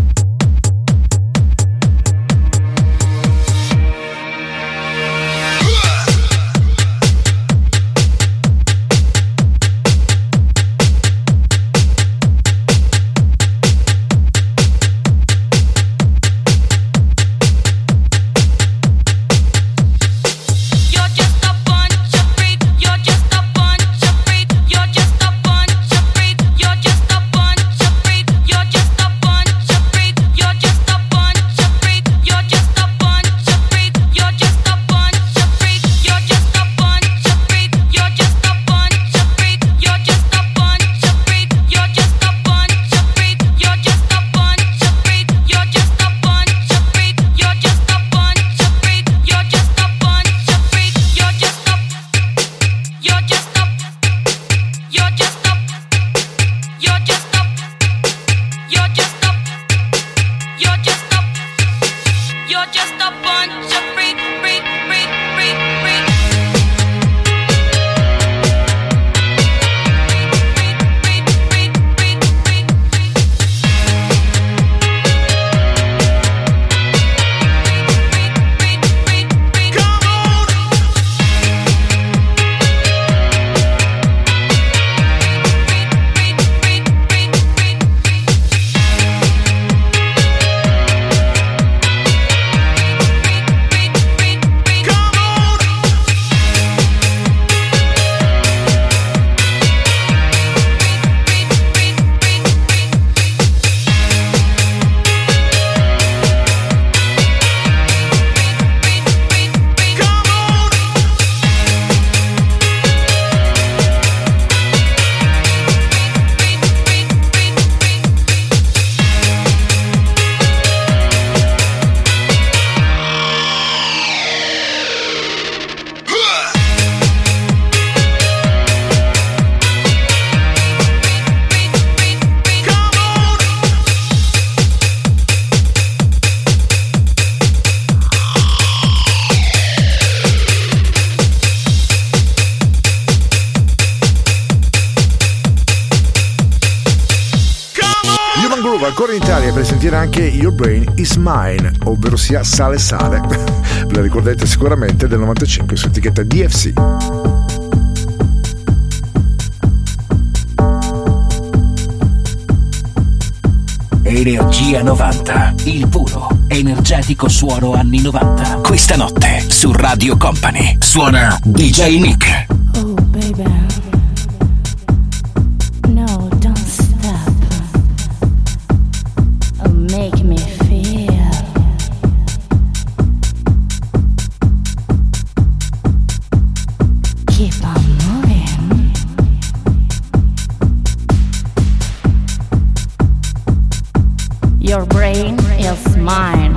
Ooh. ancora in Italia per sentire anche Your Brain Is Mine, ovvero sia Sale Sale. Ve la ricordate sicuramente, del novantacinque su etichetta D F C. Energia novanta, il puro, energetico suono anni novanta. Questa notte su Radio Company suona D J Nick. Oh baby, no, don't stop. Oh, make me feel. Keep on moving. Your brain is mine.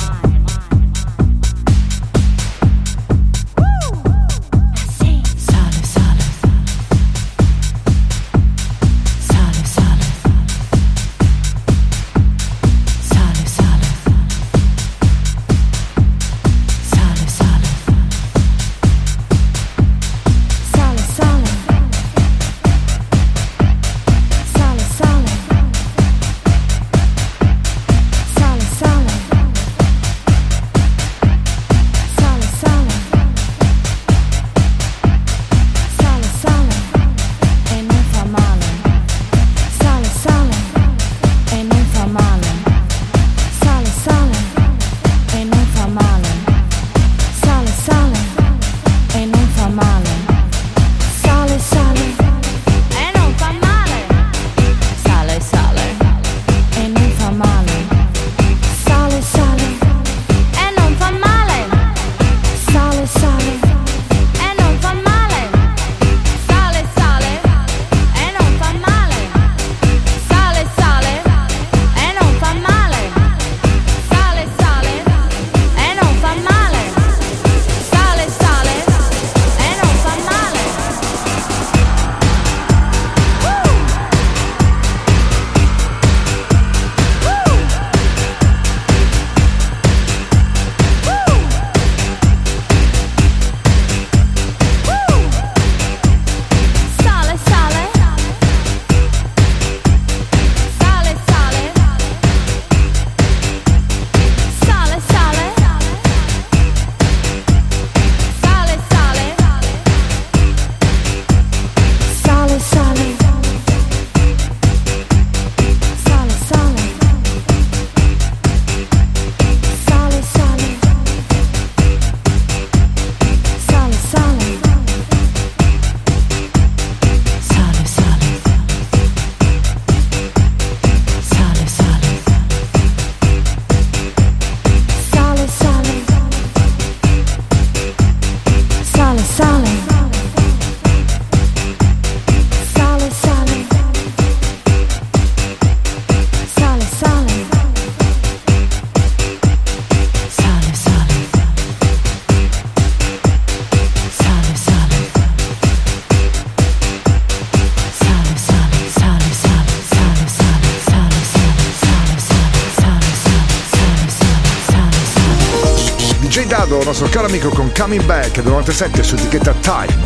Il nostro caro amico con Coming Back del novantasette su etichetta Time.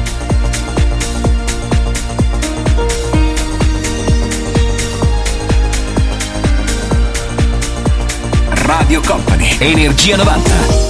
Radio Company, Energia novanta.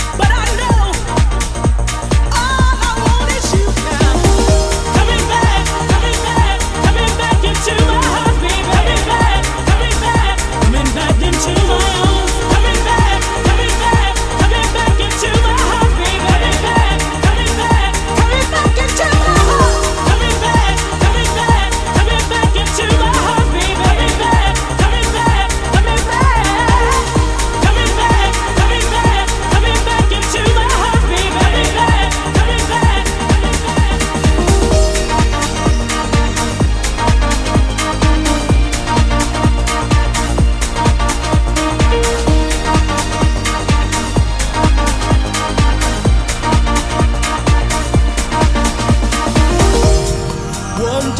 Coming back.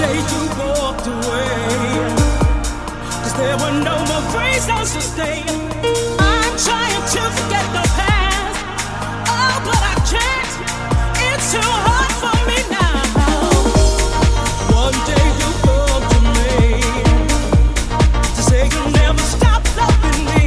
day you walked away, 'cause there were no more reasons to stay. I'm trying to forget the past, oh, but I can't. It's too hard for me now. One day you come to me to say you'll never stop loving me.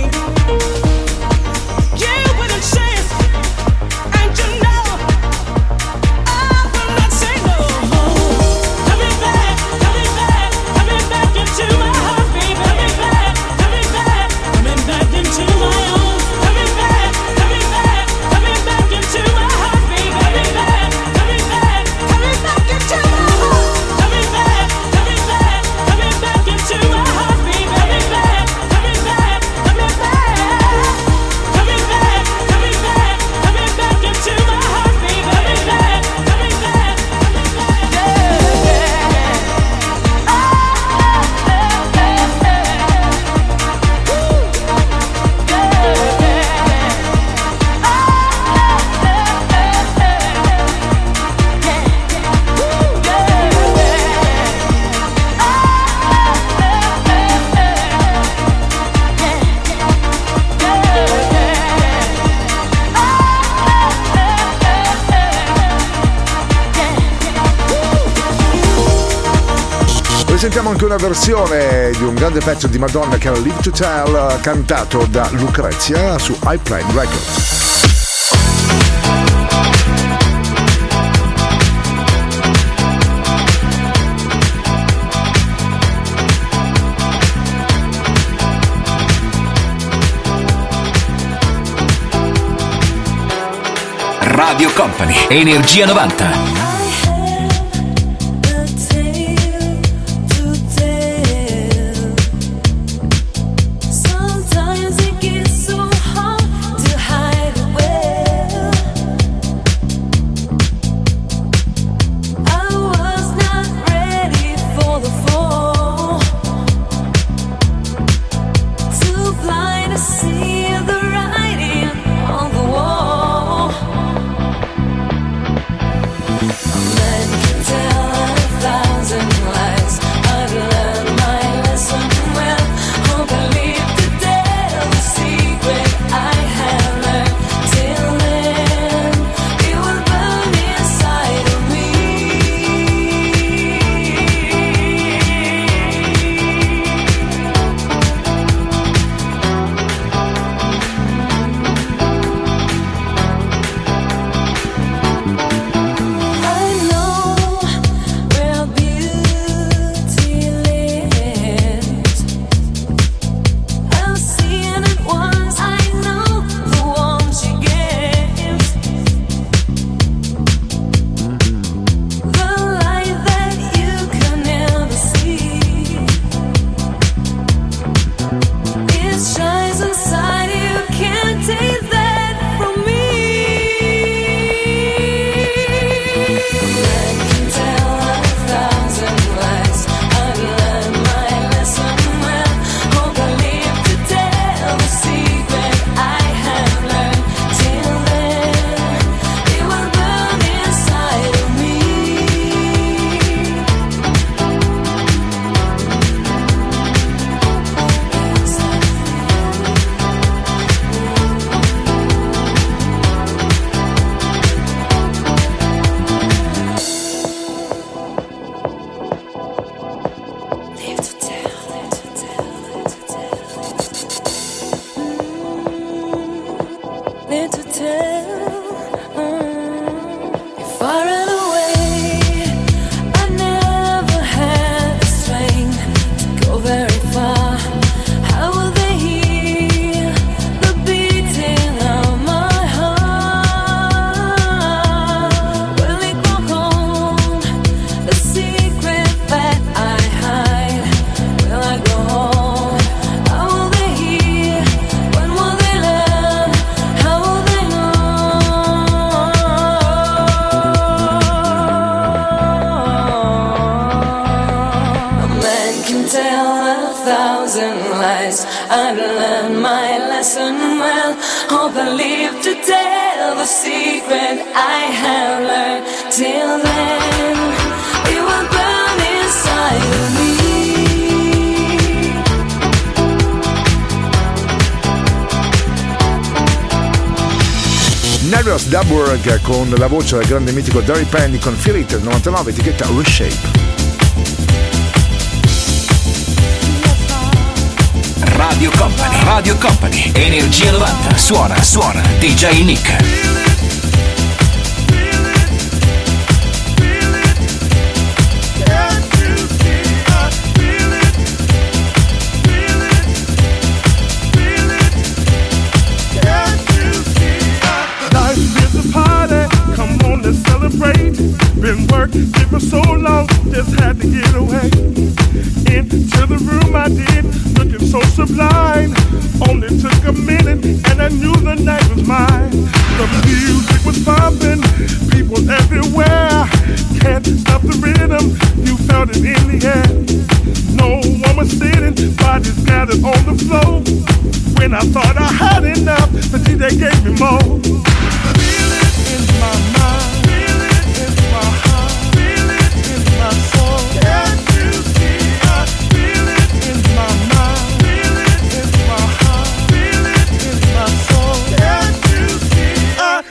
Yeah, with a chance, and you know I will not say no. Coming back, coming back, coming back into my heart, baby. Coming back, coming back, coming back into my own. Coming back, coming back, coming back into my heart, baby. Coming back, coming back, coming back into my heart. Coming back, coming back, coming back into my heart, baby. Coming back, coming back, coming back. Coming back, coming back, coming back into my heart, baby. Coming back, coming back, coming Sentiamo anche una versione di un grande pezzo di Madonna che era Live to Tell, cantato da Lucrezia su iPlane Records. Radio Company, Energia novanta. I've learned my lesson well. Hope I live to tell the secret I have learned. Till then, it will burn inside. Darius Dubberg con la voce del grande mitico Derry Penny con Feel It novantanove, etichetta Reshape. Radio Company, Radio Company, Energia novanta, suona, suona, D J Nick. Been working for so long, just had to get away. Into the room I did, looking so sublime. Only took a minute and I knew the night was mine. The music was pumping, people everywhere. Can't stop the rhythm, you felt it in the air. No one was sitting, bodies scattered on the floor. When I thought I had enough, the D J gave me more. Feel it in my mind. My heart, feel it in my soul. Can't you see? I feel it in my mind. Feel it in my heart. Feel it in my soul. Can't you see? I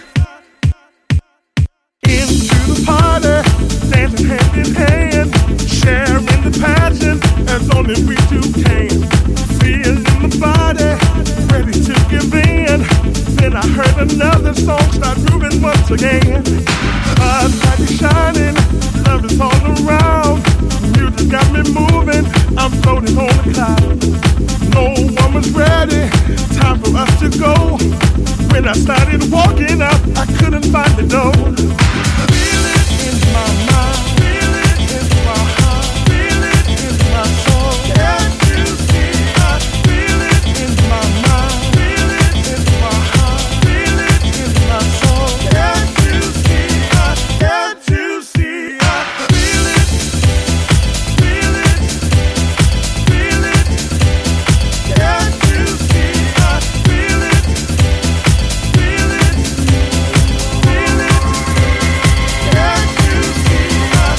into the party, dancing hand in hand, sharing the passion as only we two can. Feeling the body, ready to give in. Then I heard another song start grooving once again. Spotlight shining, love is all around. Music got me moving, I'm floating on the cloud. No one was ready, time for us to go. When I started walking up, I couldn't find the door. Feel it in my mind, feel it in my heart, feel it in my soul. Can't you see? I feel it in my mind, feel it in my heart, feel it in my soul. Can't you see? I can't you see? I feel it, feel it, feel it. Can't you see? I feel it, feel it, feel it. Can't you see?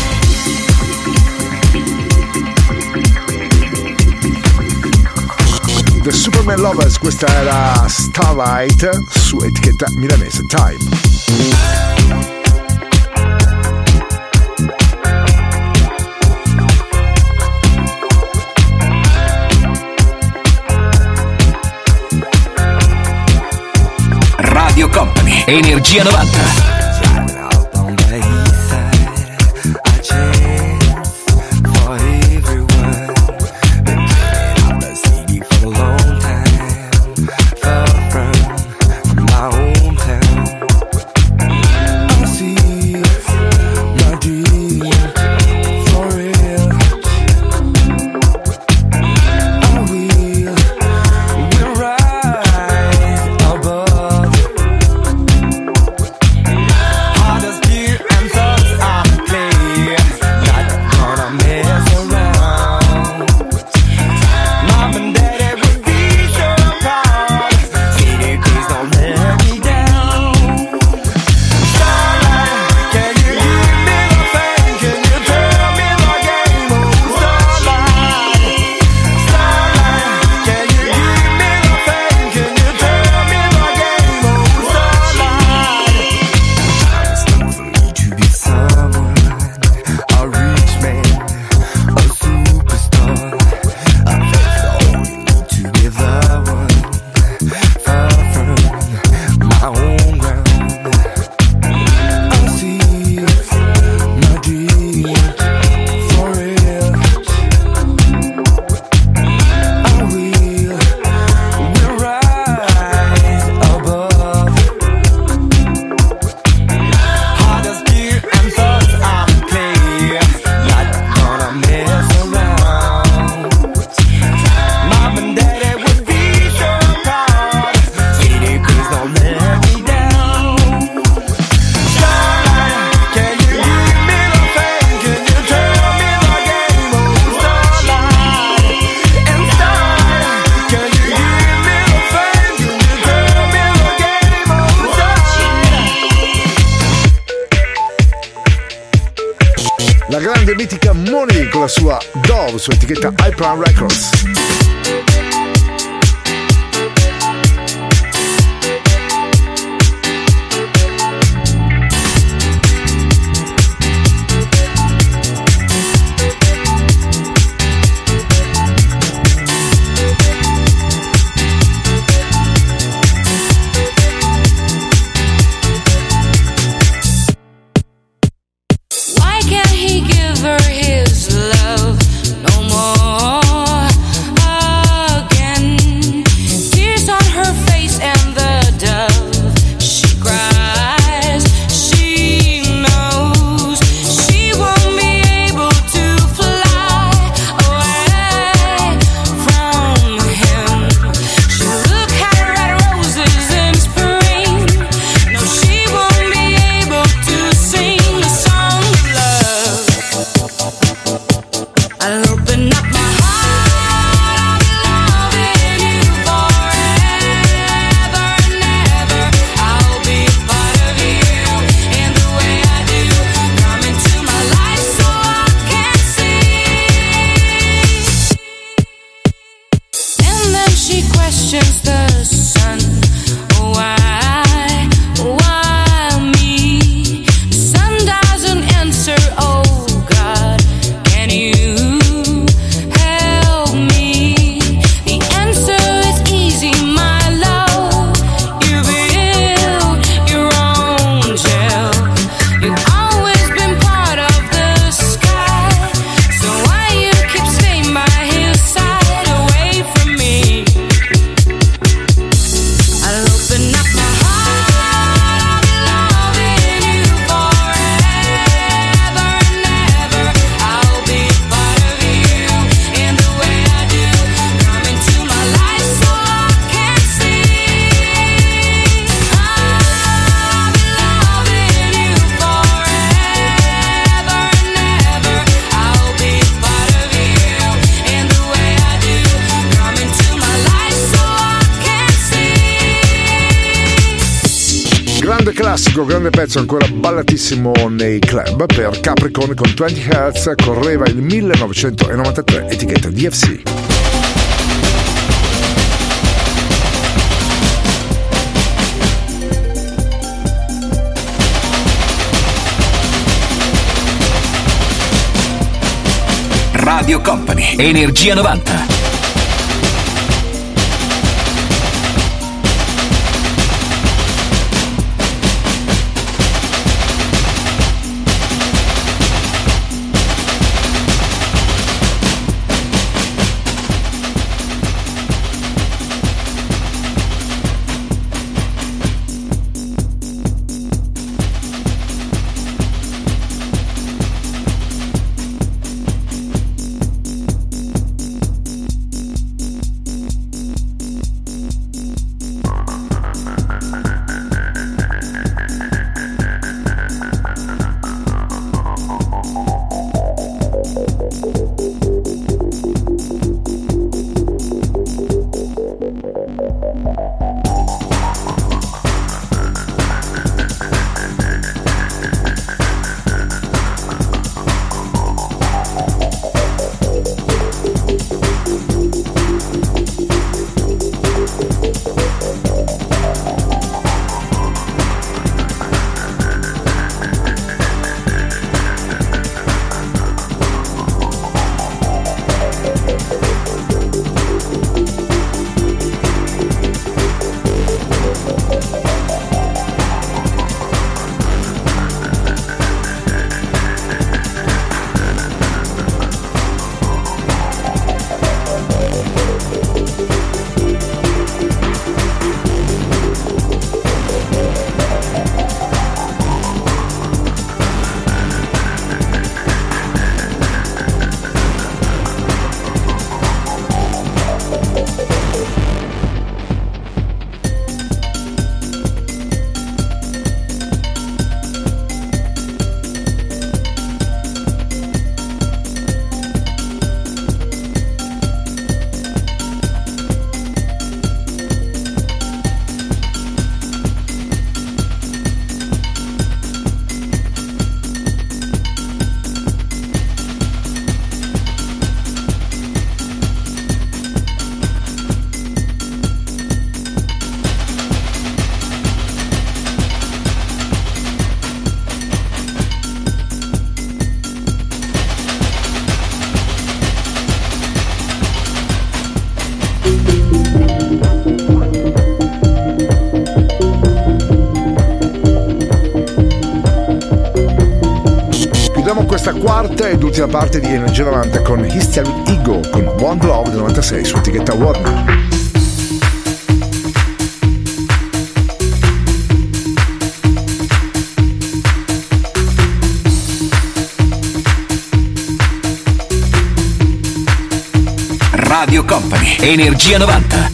The Superman Lovers, questa era Starlight su etichetta milanese Time. Radio Company, Energia novanta. La grande mitica Moni con la sua Dove su etichetta Hyper Records. questions the sun. Why, why me? The sun doesn't answer. Oh God, can you help me? The answer is easy, my love. You build your own shell. You've always been part of the sky. So why you keep staying by his side, away from me? I'll open up my heart. I'll be loving you forever and ever. I'll be part of you in the way I do. Come into my life so I can see. I'll be loving you forever and ever. I'll be part of you in the way I do. Come into my life so I can see. Grande classico, grande pezzo, ancora ballatissimo nei club per Capricorn con venti hertz, correva il millenovecentonovantatré, etichetta D F C. Radio Company, Energia novanta. Questa quarta ed ultima parte di Energia novanta con Hysteric Ego con One Love del novantasei su etichetta Warner. Radio Company, Energia novanta.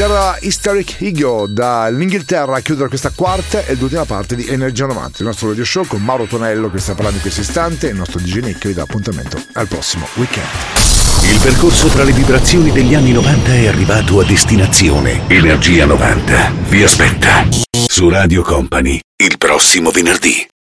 era Hysteric Ego dall'Inghilterra a chiudere questa quarta e l'ultima parte di Energia novanta, il nostro radio show con Mauro Tonello che sta parlando in questo istante e il nostro D J Nick vi dà appuntamento al prossimo weekend. Il percorso tra le vibrazioni degli anni novanta è arrivato a destinazione. Energia novanta vi aspetta su Radio Company il prossimo venerdì.